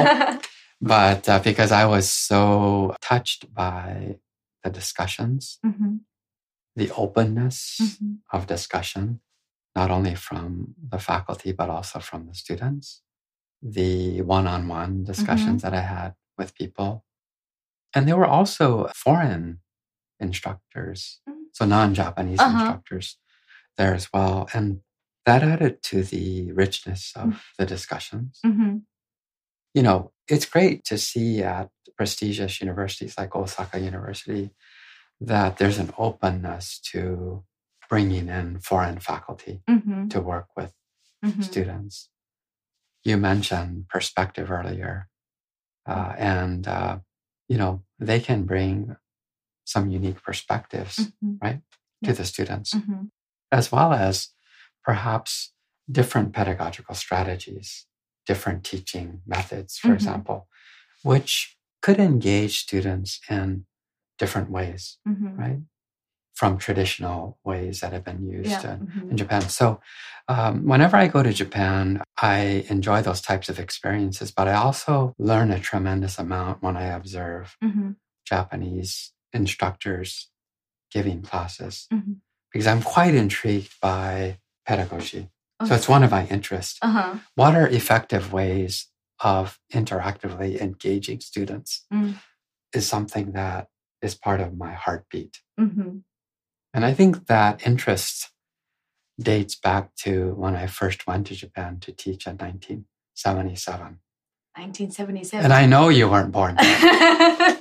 but uh, because I was so touched by the discussions, mm-hmm. the openness mm-hmm. of discussion, not only from the faculty, but also from the students, the one-on-one discussions mm-hmm. that I had with people. And there were also foreign instructors, mm-hmm. so non-Japanese uh-huh. instructors there as well. And that added to the richness of mm-hmm. the discussions. Mm-hmm. You know, it's great to see at prestigious universities like Osaka University that there's an openness to bringing in foreign faculty mm-hmm. to work with mm-hmm. students. You mentioned perspective earlier, uh, and, uh, you know, they can bring some unique perspectives, mm-hmm. right, yeah. to the students, mm-hmm. as well as perhaps different pedagogical strategies, different teaching methods, for mm-hmm. example, which could engage students in different ways, mm-hmm. right? From traditional ways that have been used yeah. in, mm-hmm. in Japan. So um, whenever I go to Japan, I enjoy those types of experiences, but I also learn a tremendous amount when I observe mm-hmm. Japanese instructors giving classes, mm-hmm. because I'm quite intrigued by pedagogy. Okay. So it's one of my interests. Uh-huh. What are effective ways of interactively engaging students mm. is something that is part of my heartbeat. Mm-hmm. And I think that interest dates back to when I first went to Japan to teach in nineteen seventy-seven. nineteen seventy-seven. And I know you weren't born then.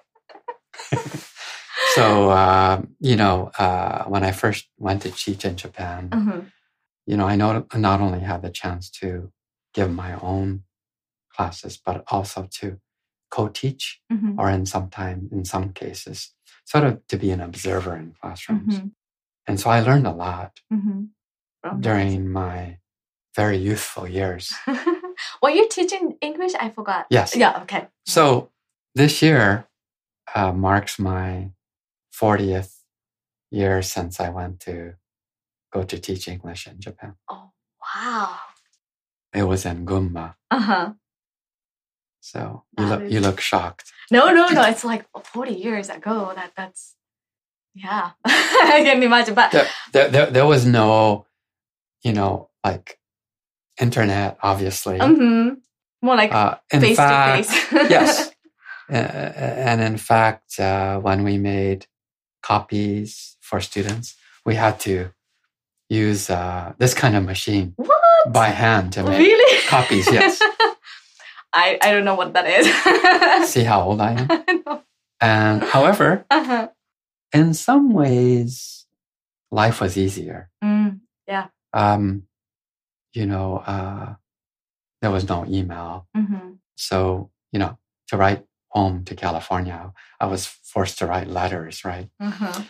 So, uh, you know, uh, when I first went to teach in Japan, uh-huh. you know, I know, not only had the chance to give my own classes, but also to co-teach, Mm-hmm. or in some time, in some cases, sort of to be an observer in classrooms. Mm-hmm. And so I learned a lot Mm-hmm. From during my very youthful years. Were you teaching English? I forgot. Yes. Yeah, okay. So this year uh, marks my fortieth year since I went to go to teach English in Japan. Oh, wow. It was in Gunma. Uh-huh. So you That look is- you look shocked. No, no, no. It's like forty years ago. That That's, yeah. I can imagine. But There, there, there, there was no, you know, like internet, obviously. mm-hmm. More like Uh, in face fact, to face. yes. Uh, and in fact, uh, when we made copies for students, we had to use uh, this kind of machine What? by hand to make Really? copies. Yes. I, I don't know what that is. See how old I am? I know. And however, Uh-huh. in some ways, life was easier. Mm, Um, you know, uh, there was no email. mm-hmm. So, you know, to write home to California, I was forced to write letters, right? Mm-hmm.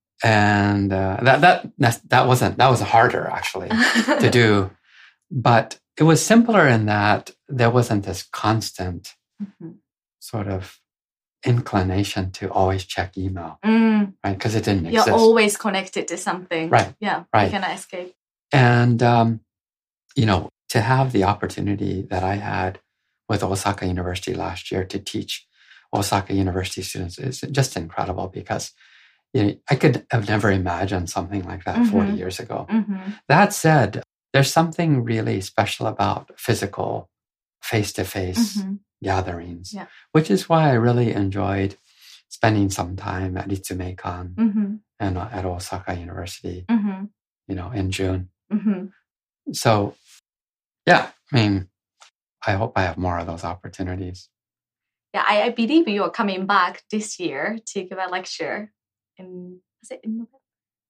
And uh, that, that, that, that wasn't, that was harder actually to do. But it was simpler in that there wasn't this constant Mm-hmm. sort of inclination to always check email, Mm, right? Because it didn't you're exist. always connected to something. Right, Yeah. right. You cannot escape. And, um, you know, to have the opportunity that I had with Osaka University last year to teach Osaka University students is just incredible, because you know, I could have never imagined something like that Mhm. forty years ago. Mm-hmm. That said, there's something really special about physical face-to-face Mm-hmm. gatherings, Yeah. which is why I really enjoyed spending some time at Ritsumeikan Mm-hmm. and uh, at Osaka University, Mm-hmm. you know, in June. Mm-hmm. So, yeah, I mean, I hope I have more of those opportunities. Yeah, I, I believe you are coming back this year to give a lecture in, was it in November?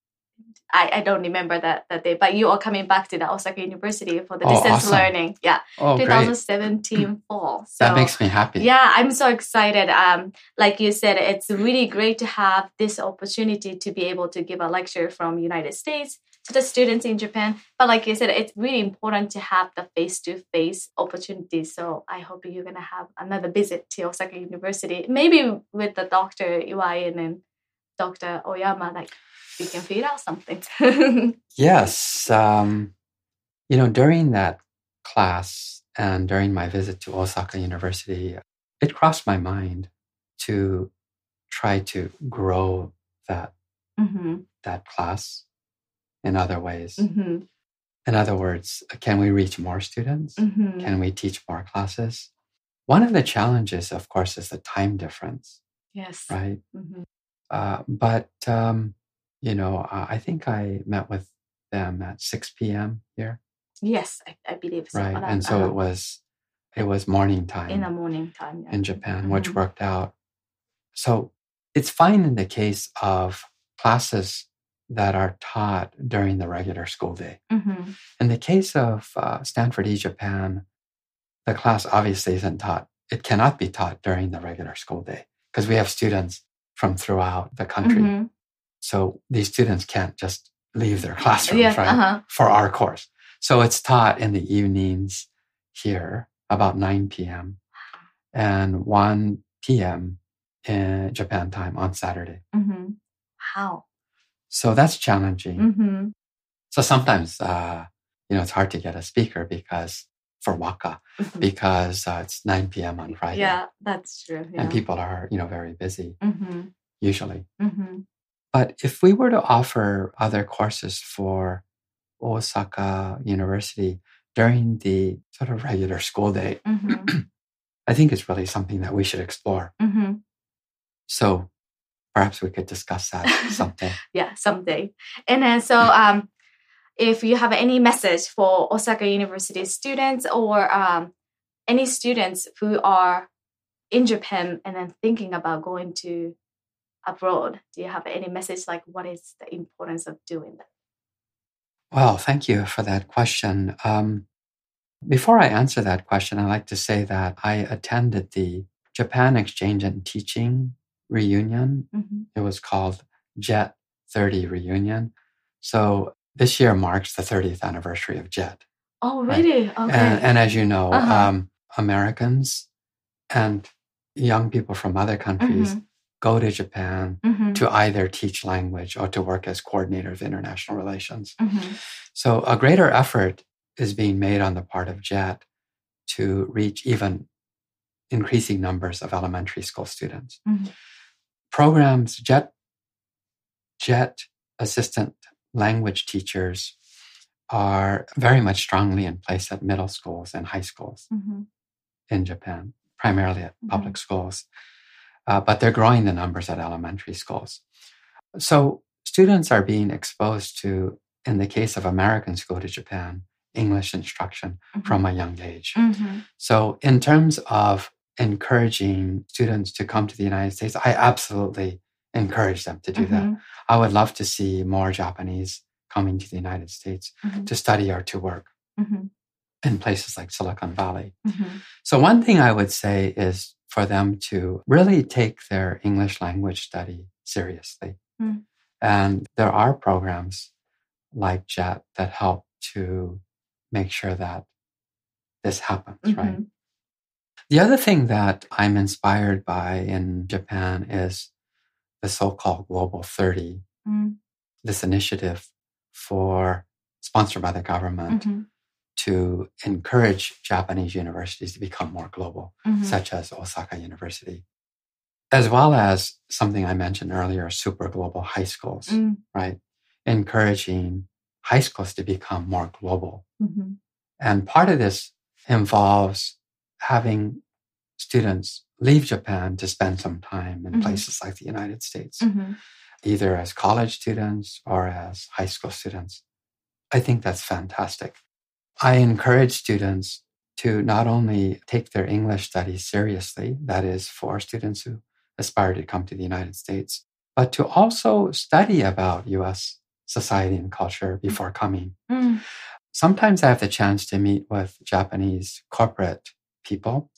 I, I don't remember that, that day, but you are coming back to the Osaka University for the Oh, distance awesome. learning. Yeah, Oh, great. twenty seventeen fall. So, That makes me happy. yeah, I'm so excited. Um, like you said, it's really great to have this opportunity to be able to give a lecture from United States to the students in Japan. But like you said, it's really important to have the face-to-face opportunity. So I hope you're going to have another visit to Osaka University, maybe with the Doctor Iwai and then Doctor Oyama, like we can figure out something. Yes. Um, you know, during that class and during my visit to Osaka University, it crossed my mind to try to grow that mm-hmm. that class in other ways. Mm-hmm. In other words, can we reach more students? Mm-hmm. Can we teach more classes? One of the challenges, of course, is the time difference, Yes. right? Mm-hmm. Uh, but, um, you know, uh, I think I met with them at six p.m. here, Yes, I, I believe so. right? Around- And so uh, it was it was morning time in the morning time. Yeah. in Japan, which Mhm. worked out. So it's fine in the case of classes that are taught during the regular school day. Mm-hmm. In the case of uh, Stanford eJapan, the class obviously isn't taught. It cannot be taught during the regular school day because we have students from throughout the country. Mm-hmm. So these students can't just leave their classrooms, Yeah, right, uh-huh. for our course. So it's taught in the evenings here about nine p.m. and one p.m. in Japan time on Saturday. Mm-hmm. Wow. So that's challenging. Mm-hmm. So sometimes, uh, you know, it's hard to get a speaker because for Waka, Mhm. because uh, it's nine p.m. on Friday. Yeah, that's true. Yeah. And people are, you know, very busy Mm-hmm. usually. Mm-hmm. But if we were to offer other courses for Osaka University during the sort of regular school day, Mm-hmm. I think it's really something that we should explore. Mm-hmm. So perhaps we could discuss that someday. Yeah, someday. And then so um, if you have any message for Osaka University students or um, any students who are in Japan and then thinking about going to abroad, do you have any message like what is the importance of doing that? Well, thank you for that question. Um, Before I answer that question, I'd like to say that I attended the Japan Exchange and Teaching Reunion. Mm-hmm. It was called JET thirty Reunion. So this year marks the thirtieth anniversary of JET. Oh, really? Right? Okay. And, and as you know, uh-huh. um, Americans and young people from other countries mm-hmm. go to Japan mm-hmm. to either teach language or to work as coordinator of international relations. Mm-hmm. So a greater effort is being made on the part of JET to reach even increasing numbers of elementary school students. Mm-hmm. Programs, JET, JET assistant language teachers are very much strongly in place at middle schools and high schools mm-hmm. in Japan, primarily at mm-hmm. public schools. Uh, but they're growing the numbers at elementary schools. So students are being exposed to, in the case of Americans who go to Japan, English instruction mm-hmm. from a young age. Mm-hmm. So in terms of encouraging students to come to the United States, I absolutely encourage them to do mm-hmm. that. I would love to see more Japanese coming to the United States mm-hmm. to study or to work mm-hmm. in places like Silicon Valley. Mm-hmm. So one thing I would say is for them to really take their English language study seriously. Mm. And there are programs like JET that help to make sure that this happens, mm-hmm. right? The other thing that I'm inspired by in Japan is the so-called Global thirty, mm. this initiative for sponsored by the government mm-hmm. to encourage Japanese universities to become more global, mm-hmm. such as Osaka University, as well as something I mentioned earlier, super global high schools, mm. right? Encouraging high schools to become more global. Mm-hmm. And part of this involves having students leave Japan to spend some time in mm-hmm. places like the United States, mm-hmm. either as college students or as high school students. I think that's fantastic. I encourage students to not only take their English studies seriously, that is for students who aspire to come to the United States, but to also study about U S society and culture before coming. Mm. Sometimes I have the chance to meet with Japanese corporate people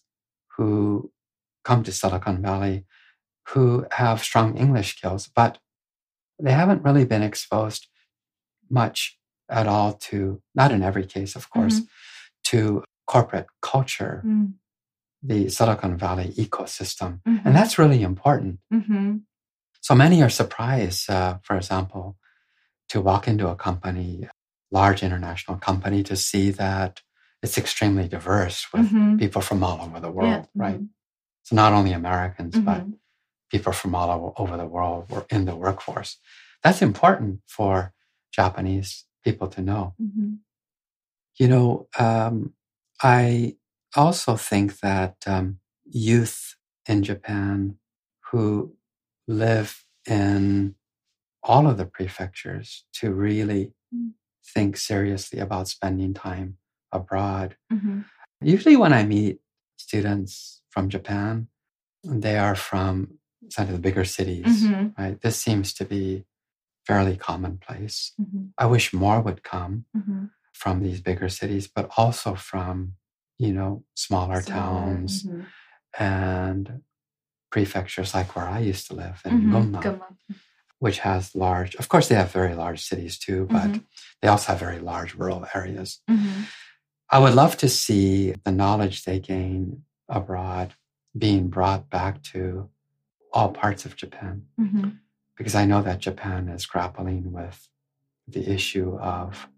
who come to Silicon Valley who have strong English skills, but they haven't really been exposed much at all to, not in every case, of course, mm-hmm. to corporate culture, mm. the Silicon Valley ecosystem. Mm-hmm. And that's really important. Mm-hmm. So many are surprised, uh, for example, to walk into a company, large international company, to see that it's extremely diverse with mm-hmm. people from all over the world, yeah. right? Mm-hmm. So not only Americans, mm-hmm. but people from all over the world were in the workforce. That's important for Japanese people to know. Mm-hmm. You know, um, I also think that um, youth in Japan who live in all of the prefectures to really mm-hmm. think seriously about spending time abroad. Mm-hmm. Usually when I meet students from Japan, they are from some of the bigger cities, mm-hmm. right? This seems to be fairly commonplace. Mm-hmm. I wish more would come mm-hmm. from these bigger cities, but also from, you know, smaller Smaller, towns mm-hmm. and prefectures like where I used to live in mm-hmm. Gunma, Gunma, which has large, of course they have very large cities too, but mm-hmm. they also have very large rural areas. Mm-hmm. I would love to see the knowledge they gain abroad being brought back to all parts of Japan. Mm-hmm. Because I know that Japan is grappling with the issue of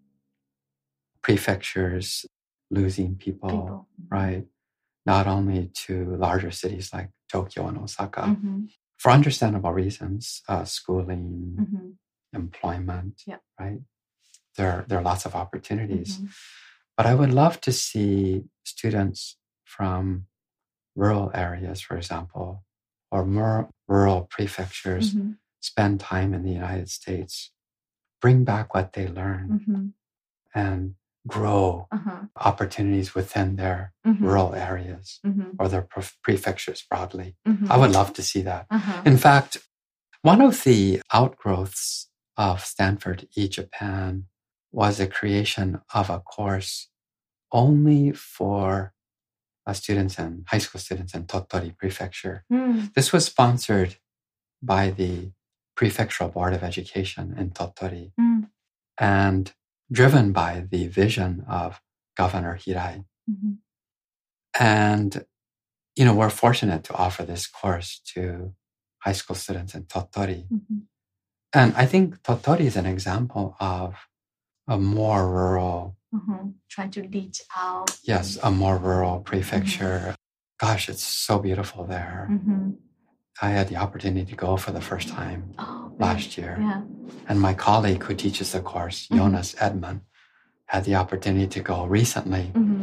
prefectures losing people, people. right? Not only to larger cities like Tokyo and Osaka, mm-hmm. for understandable reasons, uh, schooling, mm-hmm. employment, yeah. right? There, there are lots of opportunities. Mm-hmm. But I would love to see students from rural areas, for example, or more rural prefectures mm-hmm. spend time in the United States, bring back what they learn, mm-hmm. and grow uh-huh. opportunities within their mm-hmm. rural areas mm-hmm. or their pre- prefectures broadly. Mm-hmm. I would love to see that. Uh-huh. In fact, one of the outgrowths of Stanford eJapan was the creation of a course only for uh, students and high school students in Tottori Prefecture. Mm. This was sponsored by the Prefectural Board of Education in Tottori Mm. and driven by the vision of Governor Hirai. Mm-hmm. And, you know, we're fortunate to offer this course to high school students in Tottori. Mm-hmm. And I think Tottori is an example of a more rural, Mm-hmm. Trying to reach out. yes, a more rural prefecture. Mm-hmm. Gosh, it's so beautiful there. Mm-hmm. I had the opportunity to go for the first time oh, last year. Yeah. And my colleague who teaches the course, Mm-hmm. Jonas Edman, had the opportunity to go recently. Mm-hmm.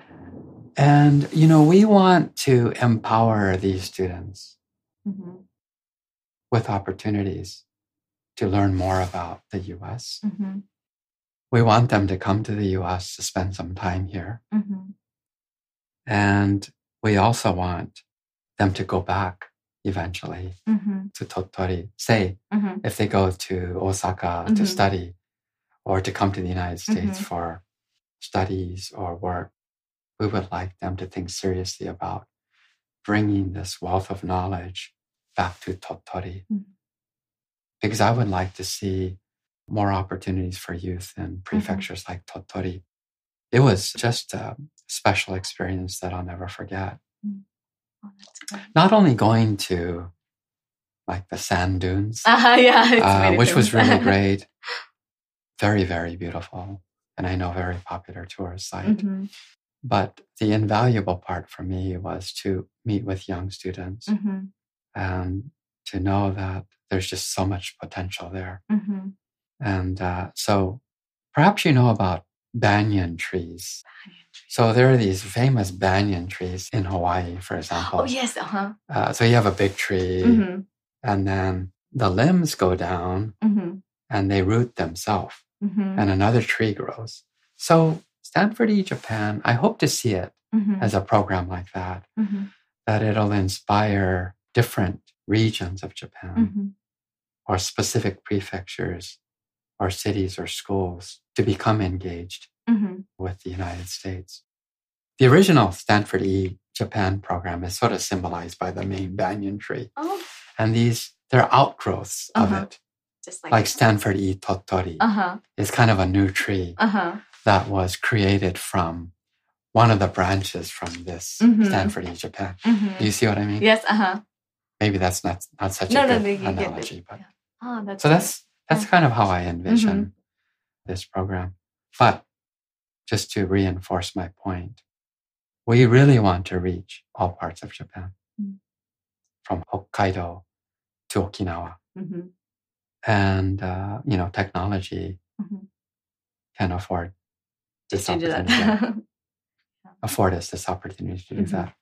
And, you know, we want to empower these students Mm-hmm. with opportunities to learn more about the U S. Mm-hmm. We want them to come to the U S to spend some time here. Mm-hmm. And we also want them to go back eventually Mm-hmm. to Tottori. Say, Mm-hmm. if they go to Osaka Mm-hmm. to study or to come to the United States Mm-hmm. for studies or work, we would like them to think seriously about bringing this wealth of knowledge back to Tottori. Mm-hmm. Because I would like to see more opportunities for youth in prefectures mm-hmm. like Tottori. It was just a special experience that I'll never forget. Mm-hmm. Oh, that's great. Not only going to like the sand dunes, Uh, yeah, it's uh, really which was famous. really great, very, very beautiful, and I know very popular tourist site. Mm-hmm. But the invaluable part for me was to meet with young students Mm-hmm. and to know that there's just so much potential there. Mm-hmm. And uh, so perhaps you know about banyan trees. So there are these famous banyan trees in Hawaii, for example. Oh, yes. Uh-huh. Uh, so you have a big tree, Mm-hmm. and then the limbs go down Mm-hmm. and they root themselves, Mm-hmm. and another tree grows. So Stanford E-Japan, I hope to see it Mm-hmm. as a program like that, Mm-hmm. that it'll inspire different regions of Japan Mm-hmm. or specific prefectures or cities or schools to become engaged Mm-hmm. with the United States. The original Stanford E-Japan program is sort of symbolized by the main banyan tree. Oh, And these, they're outgrowths Uh-huh. of it. just like, Like Stanford E-Tottori Uh-huh. is kind of a new tree Uh-huh. that was created from one of the branches from this Mhm. Stanford E-Japan. Mm-hmm. Do you see what I mean? Yes. Uh-huh. Maybe that's not, not such No, a no, good no, you get it. analogy. But Yeah. Oh, that's so great. that's that's Yeah. kind of how I envision Mhm. this program. But just to reinforce my point, we really want to reach all parts of Japan, Mm. from Hokkaido to Okinawa. Mm-hmm. And, uh, you know, technology Mhm. can afford this Just to do that. opportunity, afford us this opportunity to do Mhm. that.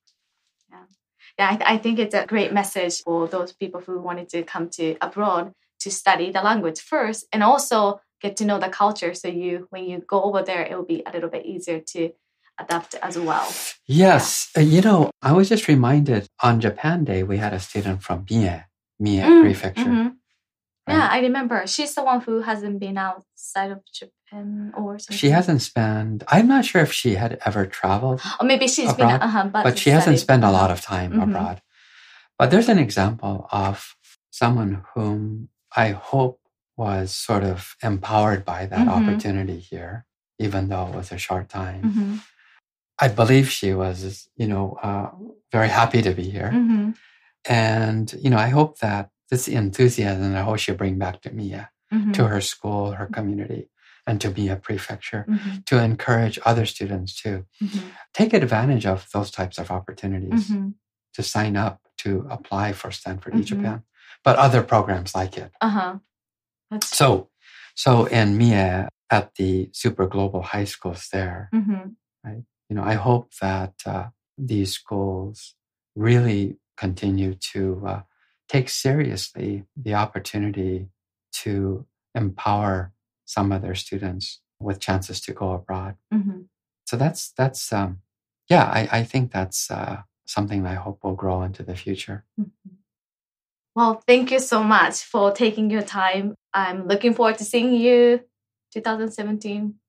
Yeah, I, th- I think it's a great message for those people who wanted to come to abroad to study the language first and also get to know the culture. So you, when you go over there, it will be a little bit easier to adapt as well. Yes. Uh, you know, I was just reminded on Japan Day, we had a student from Mie, Mie Mm, Prefecture. mhm. Yeah, Right. I remember. She's the one who hasn't been outside of Japan or something. She hasn't spent, I'm not sure if she had ever traveled, Or maybe she's abroad, been, uh-huh, but, but she hasn't studied. spent a lot of time Mhm. abroad. But there's an example of someone whom I hope was sort of empowered by that Mhm. opportunity here, even though it was a short time. Mhm. I believe she was, you know, uh, very happy to be here. Mhm. And, you know, I hope that this enthusiasm, I hope she'll bring back to Mia, Mhm. to her school, her community, and to Mia Prefecture, Mhm. to encourage other students to Mhm. take advantage of those types of opportunities, Mhm. to sign up, to apply for Stanford Mhm. E-Japan, but other programs like it. Uh-huh. That's So, so in Mia, at the super global high schools there, Mhm. you know, I hope that uh, these schools really continue to uh, take seriously the opportunity to empower some of their students with chances to go abroad. Mhm. So that's that's um, yeah, I, I think that's uh, something I hope will grow into the future. Mhm. Well, thank you so much for taking your time. I'm looking forward to seeing you twenty seventeen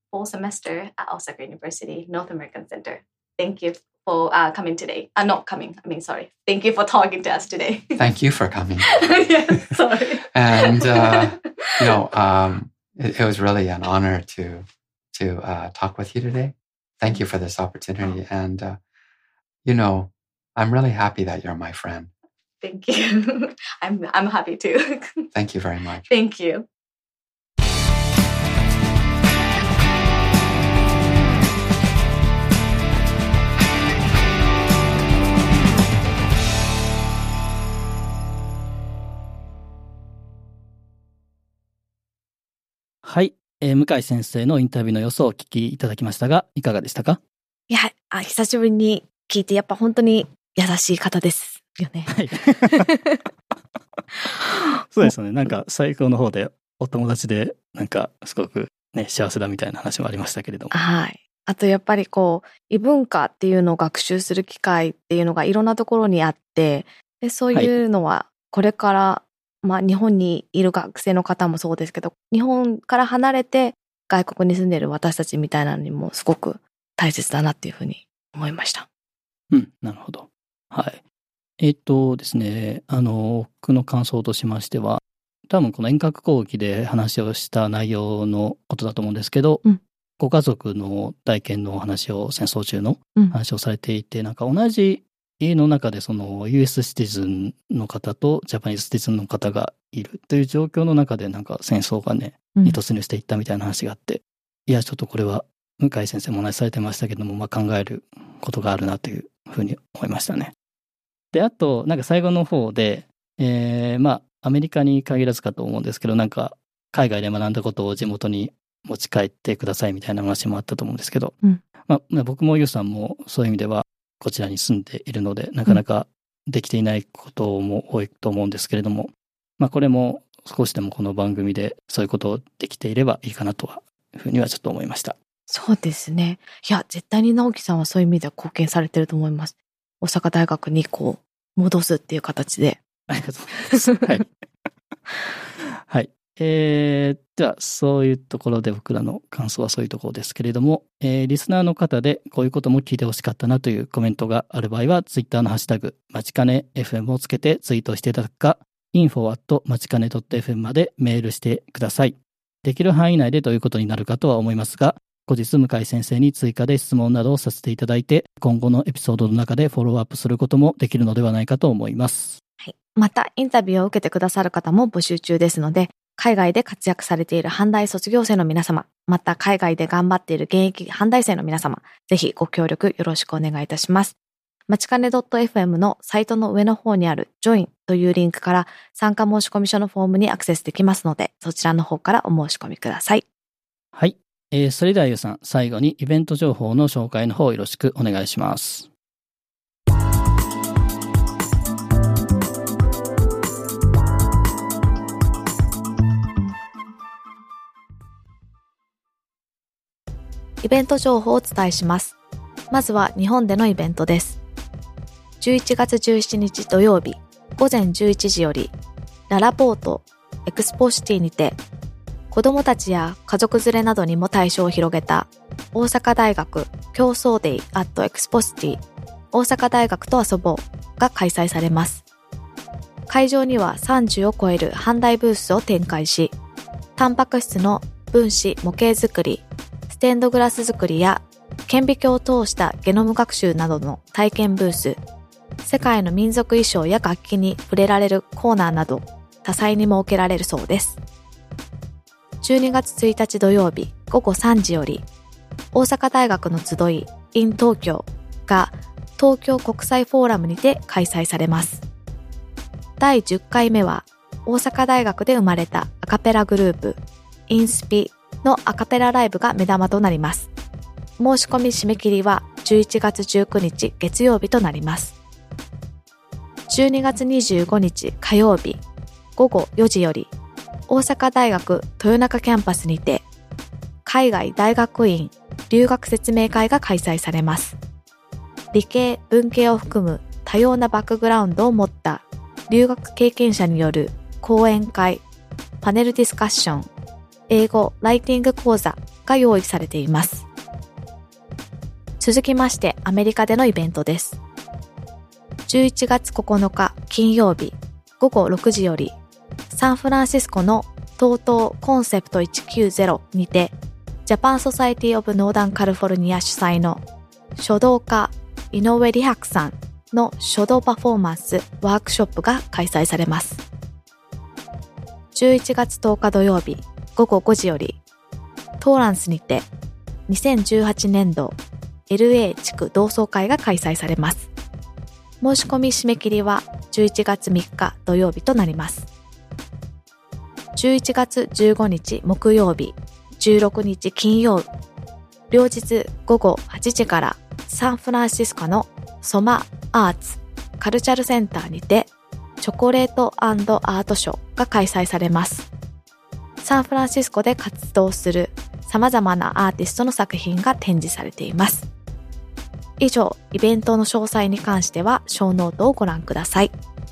fall semester at Osaka University North American Center. Thank you for uh, coming today. Uh, not coming, I mean, sorry. Thank you for talking to us today. Thank you for coming. Yes, sorry. And, uh, you know, um, it, it was really an honor to, to uh, talk with you today. Thank you for this opportunity. And, uh, you know, I'm really happy that you're my friend. Thank you. I'm, I'm happy too. Thank you very much. Thank you. はい、えー、向井先生のインタビューの様子をお聞きいただきましたが、いかがでしたか？ いや、あ、久しぶりに聞いて、やっぱ本当に優しい方ですよね。はい。 そうですね。なんか最後の方でお友達でなんかすごくね幸せだみたいな話もありましたけれども。 はい。あとやっぱりこう異文化っていうのを学習する機会っていうのがいろんなところにあって、でそういうのはこれから、はい、まあ日本にいる学生の方もそうですけど、日本から離れて外国に住んでいる私たちみたいなのにもすごく大切だなっていうふうに思いました。 うん、なるほど。はい。えっとですね、あの、僕の感想としましては、多分この遠隔講義で話をした内容のことだと思うんですけど、うん、ご家族の体験のお話を、戦争中の話をされていて、うん、なんか同じ家の中でその ユーエス シティズンの方とジャパニーズシティズンの方がいるという状況の中でなんか戦争がね、に突入していったみたいな話があって、うん、いや、ちょっとこれは向井先生もお話しされてましたけども、まあ、考えることがあるなというふうに思いましたね。で、あと、なんか最後の方で、えー、まあ、アメリカに限らずかと思うんですけど、なんか、海外で学んだことを地元に持ち帰ってくださいみたいな話もあったと思うんですけど、うん、まあ、僕もユウさんもそういう意味では、こちらに住んでいるので、なかなかできていないことも多いと思うんですけれども、まあ、これも少しでもこの番組でそういうことをできていればいいかなとは、いうふうにはちょっと思いました。 そうですね。いや、絶対に直樹さんはそういう意味では貢献されてると思います。大阪大学にこう戻すっていう形で。 ありがとうございます。はい。はい。えー、ではそういうところで僕らの感想はそういうところですけれども、えー、リスナーの方でこういうことも聞いてほしかったなというコメントがある場合は、ツイッターのハッシュタグまちかね エフエム をつけてツイートしていただくか、インフォ アット まちかね ドット エフエム までメールしてください。できる範囲内でどういうことになるかとは思いますが、後日向井先生に追加で質問などをさせていただいて、今後のエピソードの中でフォローアップすることもできるのではないかと思います。 はい。また、インタビューを受けてくださる方も募集中ですので、海外で活躍されている阪大卒業生の皆様、また海外で頑張っている現役阪大生の皆様、ぜひご協力よろしくお願いいたします。まちかね .fm のサイトの上の方にある Join というリンクから参加申し込み書のフォームにアクセスできますので、そちらの方からお申し込みください。 はい。えー、それではゆうさん、最後にイベント情報の紹介の方よろしくお願いします。 イベント情報をお伝えします。まずは日本でのイベントです。じゅういちがつじゅうしちにち土曜日午前じゅういちじよりララポートエクスポシティにて、子どもたちや家族連れなどにも対象を広げた大阪大学競争デイアットエクスポシティ大阪大学と遊ぼうが開催されます。会場にはさんじゅうを超える販売ブースを展開し、タンパク質の分子模型作り、ステンドグラス作りや顕微鏡を通したゲノム学習などの体験ブース、世界の民族衣装や楽器に触れられるコーナーなど多彩に設けられるそうです。じゅうにがつついたち土曜日午後さんじより、大阪大学の集い in 東京が東京国際フォーラムにて開催されます。だいじゅっかいめは大阪大学で生まれたアカペラグループインスピのアカペラライブが目玉となります。申し込み締め切りはじゅういちがつじゅうくにち月曜日となります。じゅうにがつにじゅうごにち火曜日午後よじより、大阪大学豊中キャンパスにて海外大学院留学説明会が開催されます。理系文系を含む多様なバックグラウンドを持った留学経験者による講演会、パネルディスカッション、 英語ライティング講座が用意されています。続きましてアメリカでのイベントです。じゅういちがつここのか金曜日ごごろくじよりサンフランシスコの トートー コンセプトいちきゅうゼロにてジャパンソサエティオブノーダンカリフォルニア主催の書道家井上理白さんの書道パフォーマンスワークショップが開催されます。じゅういちがつとおか土曜日ごごごじよりトーランスにてにせんじゅうはちねんど エルエー 地区同窓会が開催されます。申し込み締め切りはじゅういちがつみっか土曜日となります。じゅういちがつじゅうごにち木曜日、じゅうろくにち金曜日、両日ごごはちじからサンフランシスコのソマアーツカルチャルセンターにてチョコレート&アートショーが開催されます。サンフランシスコで活動する様々なアーティストの作品が展示されています。以上、イベントの詳細に関してはショーノートをご覧ください。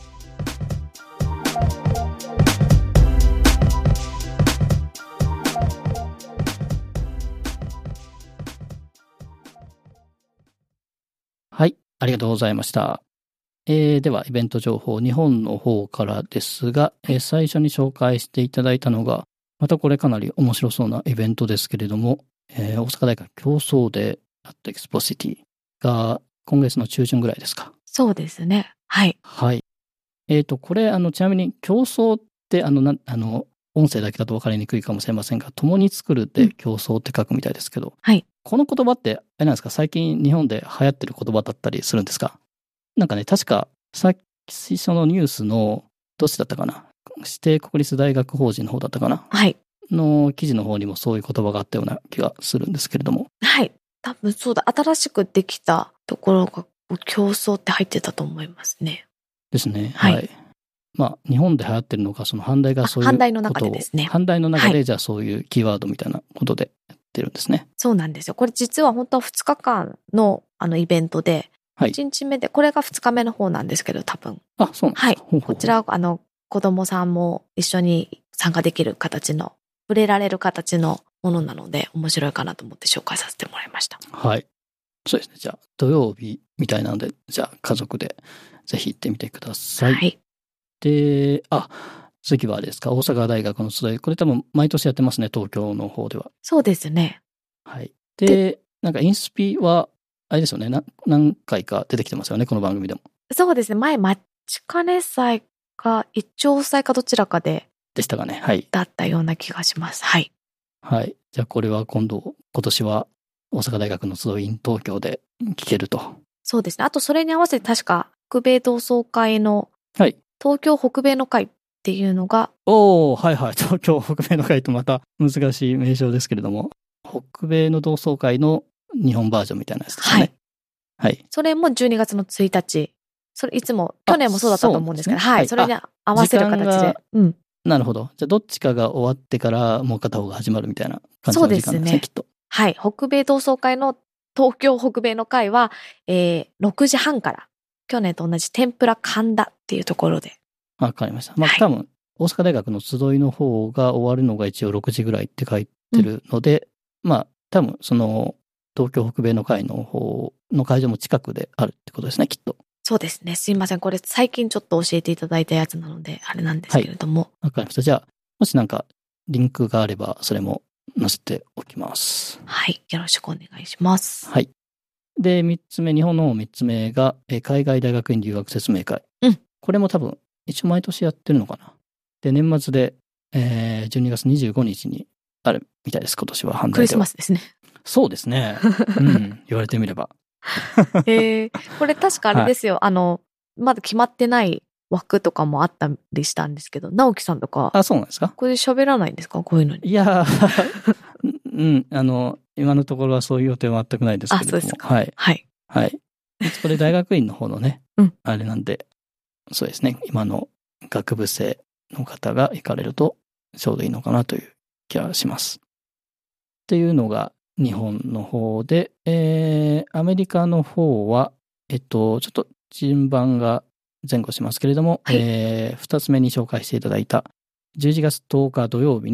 はい、ありがとうございました。えー、ではイベント情報、日本の方からですが、えー、最初に紹介していただいたのが、またこれかなり面白そうなイベントですけれども、えー、大阪大学競争デーアットエクスポシティが今月の中旬ぐらいですか。 そうですね。はい。 はい。えっと、これ、あの、ちなみに競争って、あの、な、あの、音声だけだと分かりにくいかもしれませんが、共に作るで競争って書くみたいですけど、うん、 はい。 この言葉って、あれなんですか、最近日本で流行ってる言葉だったりするんですか？なんかね、確か、さっきそのニュースの、どっちだったかな？指定国立大学法人の方だったかな？ はい。 の記事の方にもそういう言葉があったような気がするんですけれども。 はい。多分そうだ。新しくできたところが競争って入ってたと思いますね。 ですね。 はい。 はい、まあ、日本で流行ってるのか、その阪大がそういうことを。 阪大の中でですね。 阪大の中で、じゃあそういうキーワードみたいなことでやってるんですね。 そうなんですよ。これ実は本当はふつかかんのあのイベントで、はい、いちにちめで、これがふつかめの方なんですけど、多分。 あ、そうなんですか。 はい。 ほうほうほう。 こちら、あの、子供さんも一緒に参加できる形の、触れられる形のものなので、面白いかなと思って紹介させてもらいました。 はい。そうですね。じゃあ、土曜日みたいなので、じゃあ、家族でぜひ行ってみてください。 はい。 で、あ、次はですか、大阪大学の集い。これ多分、毎年やってますね、東京の方では。 そうですね。 はい。で、でなんか、インスピは、あれですよねな、何回か出てきてますよね、この番組でも。 そうですね。前、マッチカネ祭か、一丁祭かどちらかで。 でしたかね。はい。 だったような気がします。はい。 はい。じゃあ、これは今度、今年は、大阪大学の集い in 東京で聞けると。 そうですね。あとそれに合わせて確か北米同窓会の、はい、東京北米の会っていうのが。 おー、はいはい。東京北米の会とまた難しい名称ですけれども、北米の同窓会の日本バージョンみたいなやつですね。はい。はい。 それもじゅうにがつのついたち。それいつも、去年もそうだったと思うんですけど、ね、はい、はい。それに合わせる形で。うん。 なるほど。じゃあどっちかが終わってからもう片方が始まるみたいな感じの時間ですね。そうですね。きっと。 はい。北米同窓会の東京北米の会は、えー、ろくじはんから、去年と同じ天ぷら神田っていうところで。 わかりました。まあ、はい、多分、大阪大学の集いの方が終わるのが一応ろくじぐらいって書いてるので、うん、まあ、多分、その、東京北米の会の方の会場も近くであるってことですね、きっと。 そうですね。すいません。これ最近ちょっと教えていただいたやつなので、あれなんですけれども。 はい、わかりました。じゃあ、もしなんか、リンクがあれば、それも載せておきます。 はい。よろしくお願いします。 はい。で、三つ目、日本の三つ目が、え海外大学院留学説明会。 うん。 これも多分、一応毎年やってるのかな。で、年末で、えー、じゅうにがつにじゅうごにちにあるみたいです、今年は。阪大では。 クリスマスですね。 そうですね。うん。言われてみれば。 えー、これ確かあれですよ。はい、あの、まだ決まってない枠とかもあったりしたんですけど、直樹さんとか。 あ、そうなんですか？ これで喋らないんですか？こういうのに。 いやー、うん、あの、今のところはそういう予定は全くないですけれども。 あ、そうですか。 はい。 はい。 はい。これ大学院の方のね、 うん、 あれなんで、そうですね、今の学部生の方が行かれるとちょうどいいのかなという気がします。っていうのが日本の方で、えー、アメリカの方は、えっと、ちょっと順番が前後しますけれども、はい、えー、二つ目に紹介していただいたじゅういちがつとおか土曜日に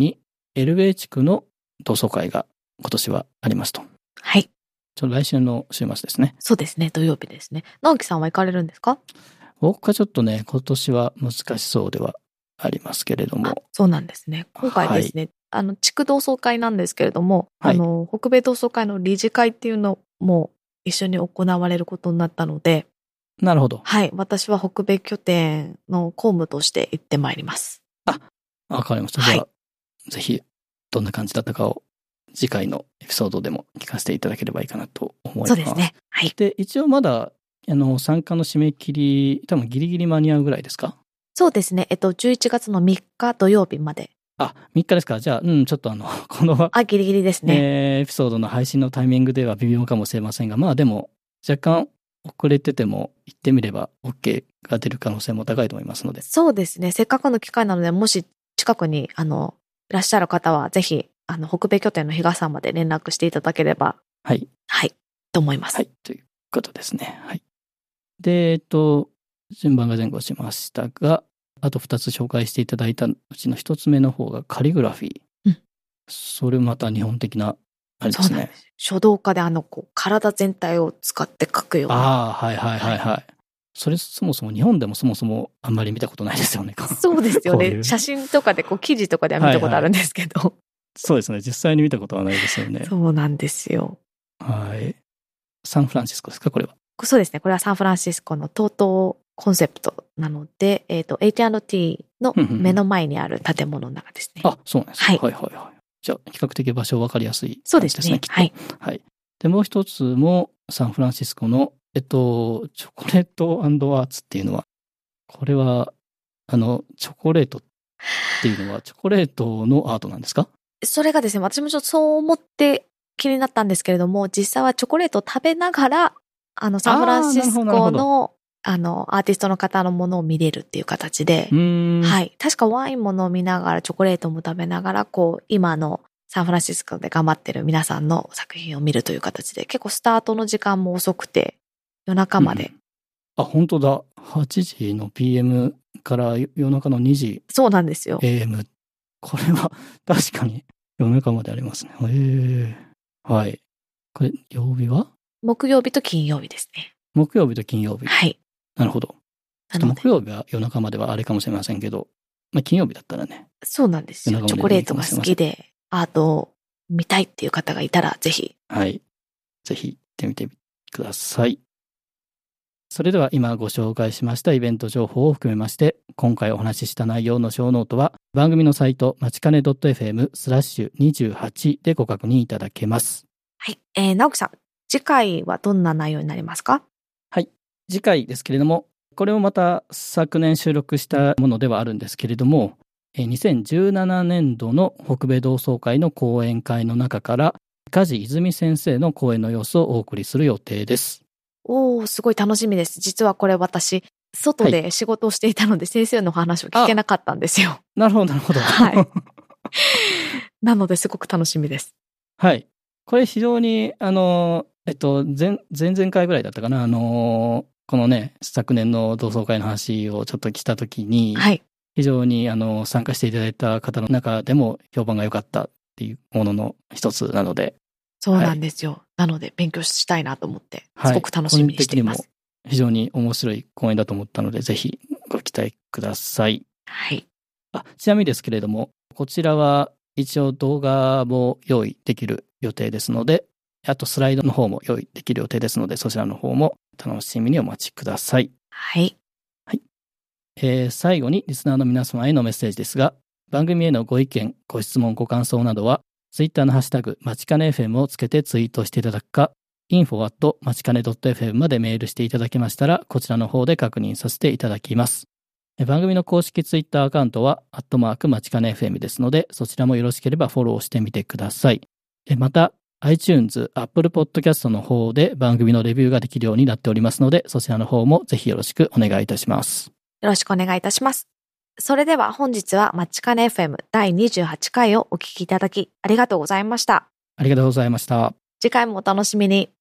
エルエー 地区の同窓会が今年はありますと。 はい。 ちょっと来週の週末ですね。 そうですね、土曜日ですね。直樹さんは行かれるんですか？ 僕はちょっとね、今年は難しそうではありますけれども。 そうなんですね。今回ですね、はい、あの、地区同窓会なんですけれども、はい、あの、北米同窓会の理事会っていうのも一緒に行われることになったので、 なるほど。 はい。私は北米拠点の公務として行ってまいります。 あ、わかりました。じゃあ、はい、ぜひ、どんな感じだったかを次回のエピソードでも聞かせていただければいいかなと思います。 そうですね。はい。 で、一応まだ、あの、参加の締め切り、多分ギリギリ間に合うぐらいですか？ そうですね。えっと、じゅういちがつのみっか土曜日まで。 あ、みっかですか。じゃあ、うん、ちょっとあの、この、 あ、ギリギリですね。 えー、エピソードの配信のタイミングでは微妙かもしれませんが、まあでも、若干遅れてても行ってみれば OK が出る可能性も高いと思いますので。 そうですね。せっかくの機会なので、もし近くに、あの、いらっしゃる方は、ぜひ、あの、北米拠点の比嘉さんまで連絡していただければ。 はい。 はい。と思います。 はい。ということですね。はい。で、えっと、順番が前後しましたが、あとふたつ紹介していただいたうちのひとつめの方がカリグラフィー。うん。それまた日本的な、あれですね。そうなんです。 書道家であの、こう、体全体を使って書くような。 ああ、はいはいはいはい。はい、それそもそも日本でもそもそもあんまり見たことないですよね。 そうですよね。うう写真とかで、こう、記事とかでは見たことあるんですけど。はいはい、 そうですね。実際に見たことはないですよね。 そうなんですよ。 はい。サンフランシスコですか、これは。 そうですね。これはサンフランシスコのトートコンセプトなので、えっと、エイチアンドティー の目の前にある建物の中ですね。 あ、そうなんですね。はい、はいはいはい。じゃあ、比較的場所分かりやすい感じですね。 そうですね。 きっと。はい。はい。で、もう一つもサンフランシスコの、えっと、チョコレート&アーツっていうのは、これは、あの、チョコレートっていうのは、チョコレートのアートなんですか？それがですね、私もちょっとそう思って気になったんですけれども、実際はチョコレートを食べながら、あの、サンフランシスコの、あの、アーティストの方のものを見れるっていう形で、はい。確かワインも飲みながら、チョコレートも食べながら、こう、今のサンフランシスコで頑張ってる皆さんの作品を見るという形で、結構スタートの時間も遅くて、夜中まで。うん、 あ、本当だ。はちじの ピーエム から夜中のにじ。 そうなんですよ。 エーエム。これは確かに夜中までありますね。へえ。はい。これ、曜日は？ 木曜日と金曜日ですね。 木曜日と金曜日。 はい。 なるほど。ちょっと木曜日は夜中まではあれかもしれませんけど、まあ金曜日だったらね。 そうなんですよ。チョコレートが好きで、アートを見たいっていう方がいたら、ぜひ。 はい。ぜひ行ってみてください。それでは今ご紹介しましたイベント情報を含めまして、今回お話しした内容の小ノートは番組のサイト、まちかね .fm スラッシュにじゅうはちでご確認いただけます。 はい。えー、直樹さん、次回はどんな内容になりますか？ はい。次回ですけれども、これもまた昨年収録したものではあるんですけれども、にせんじゅうななねんどの北米同窓会の講演会の中から、梶泉先生の講演の様子をお送りする予定です。 おー、すごい楽しみです。実はこれ私、外で仕事をしていたので、はい、先生の話を聞けなかったんですよ。 なるほど、なるほど。 はい。なのですごく楽しみです。 はい。これ非常に、あの、えっと、前、前々回ぐらいだったかな、あの、このね、昨年の同窓会の話をちょっと来たときに、はい。非常に、あの、参加していただいた方の中でも評判が良かったっていうものの一つなので。 そうなんですよ。はい、なので、勉強したいなと思って、すごく楽しみにしています。 はい、個人的にも非常に面白い講演だと思ったので、ぜひご期待ください。 はい。 あ、ちなみにですけれども、こちらは一応動画も用意できる予定ですので、あとスライドの方も用意できる予定ですので、そちらの方も楽しみにお待ちください。 はい。 はい。えー、最後にリスナーの皆様へのメッセージですが、番組へのご意見、ご質問、ご感想などは、ツイッターのハッシュタグ、まちかね エフエム をつけてツイートしていただくか、インフォ アット まちかね .fm までメールしていただけましたら、こちらの方で確認させていただきます。番組の公式ツイッターアカウントは、アットマークまちかね エフエム ですので、そちらもよろしければフォローしてみてください。また、iTunes、Apple Podcast の方で番組のレビューができるようになっておりますので、そちらの方もぜひよろしくお願いいたします。 よろしくお願いいたします。それでは本日はまちかね エフエム だいにじゅうはちかいをお聞きいただきありがとうございました。 ありがとうございました。 次回もお楽しみに。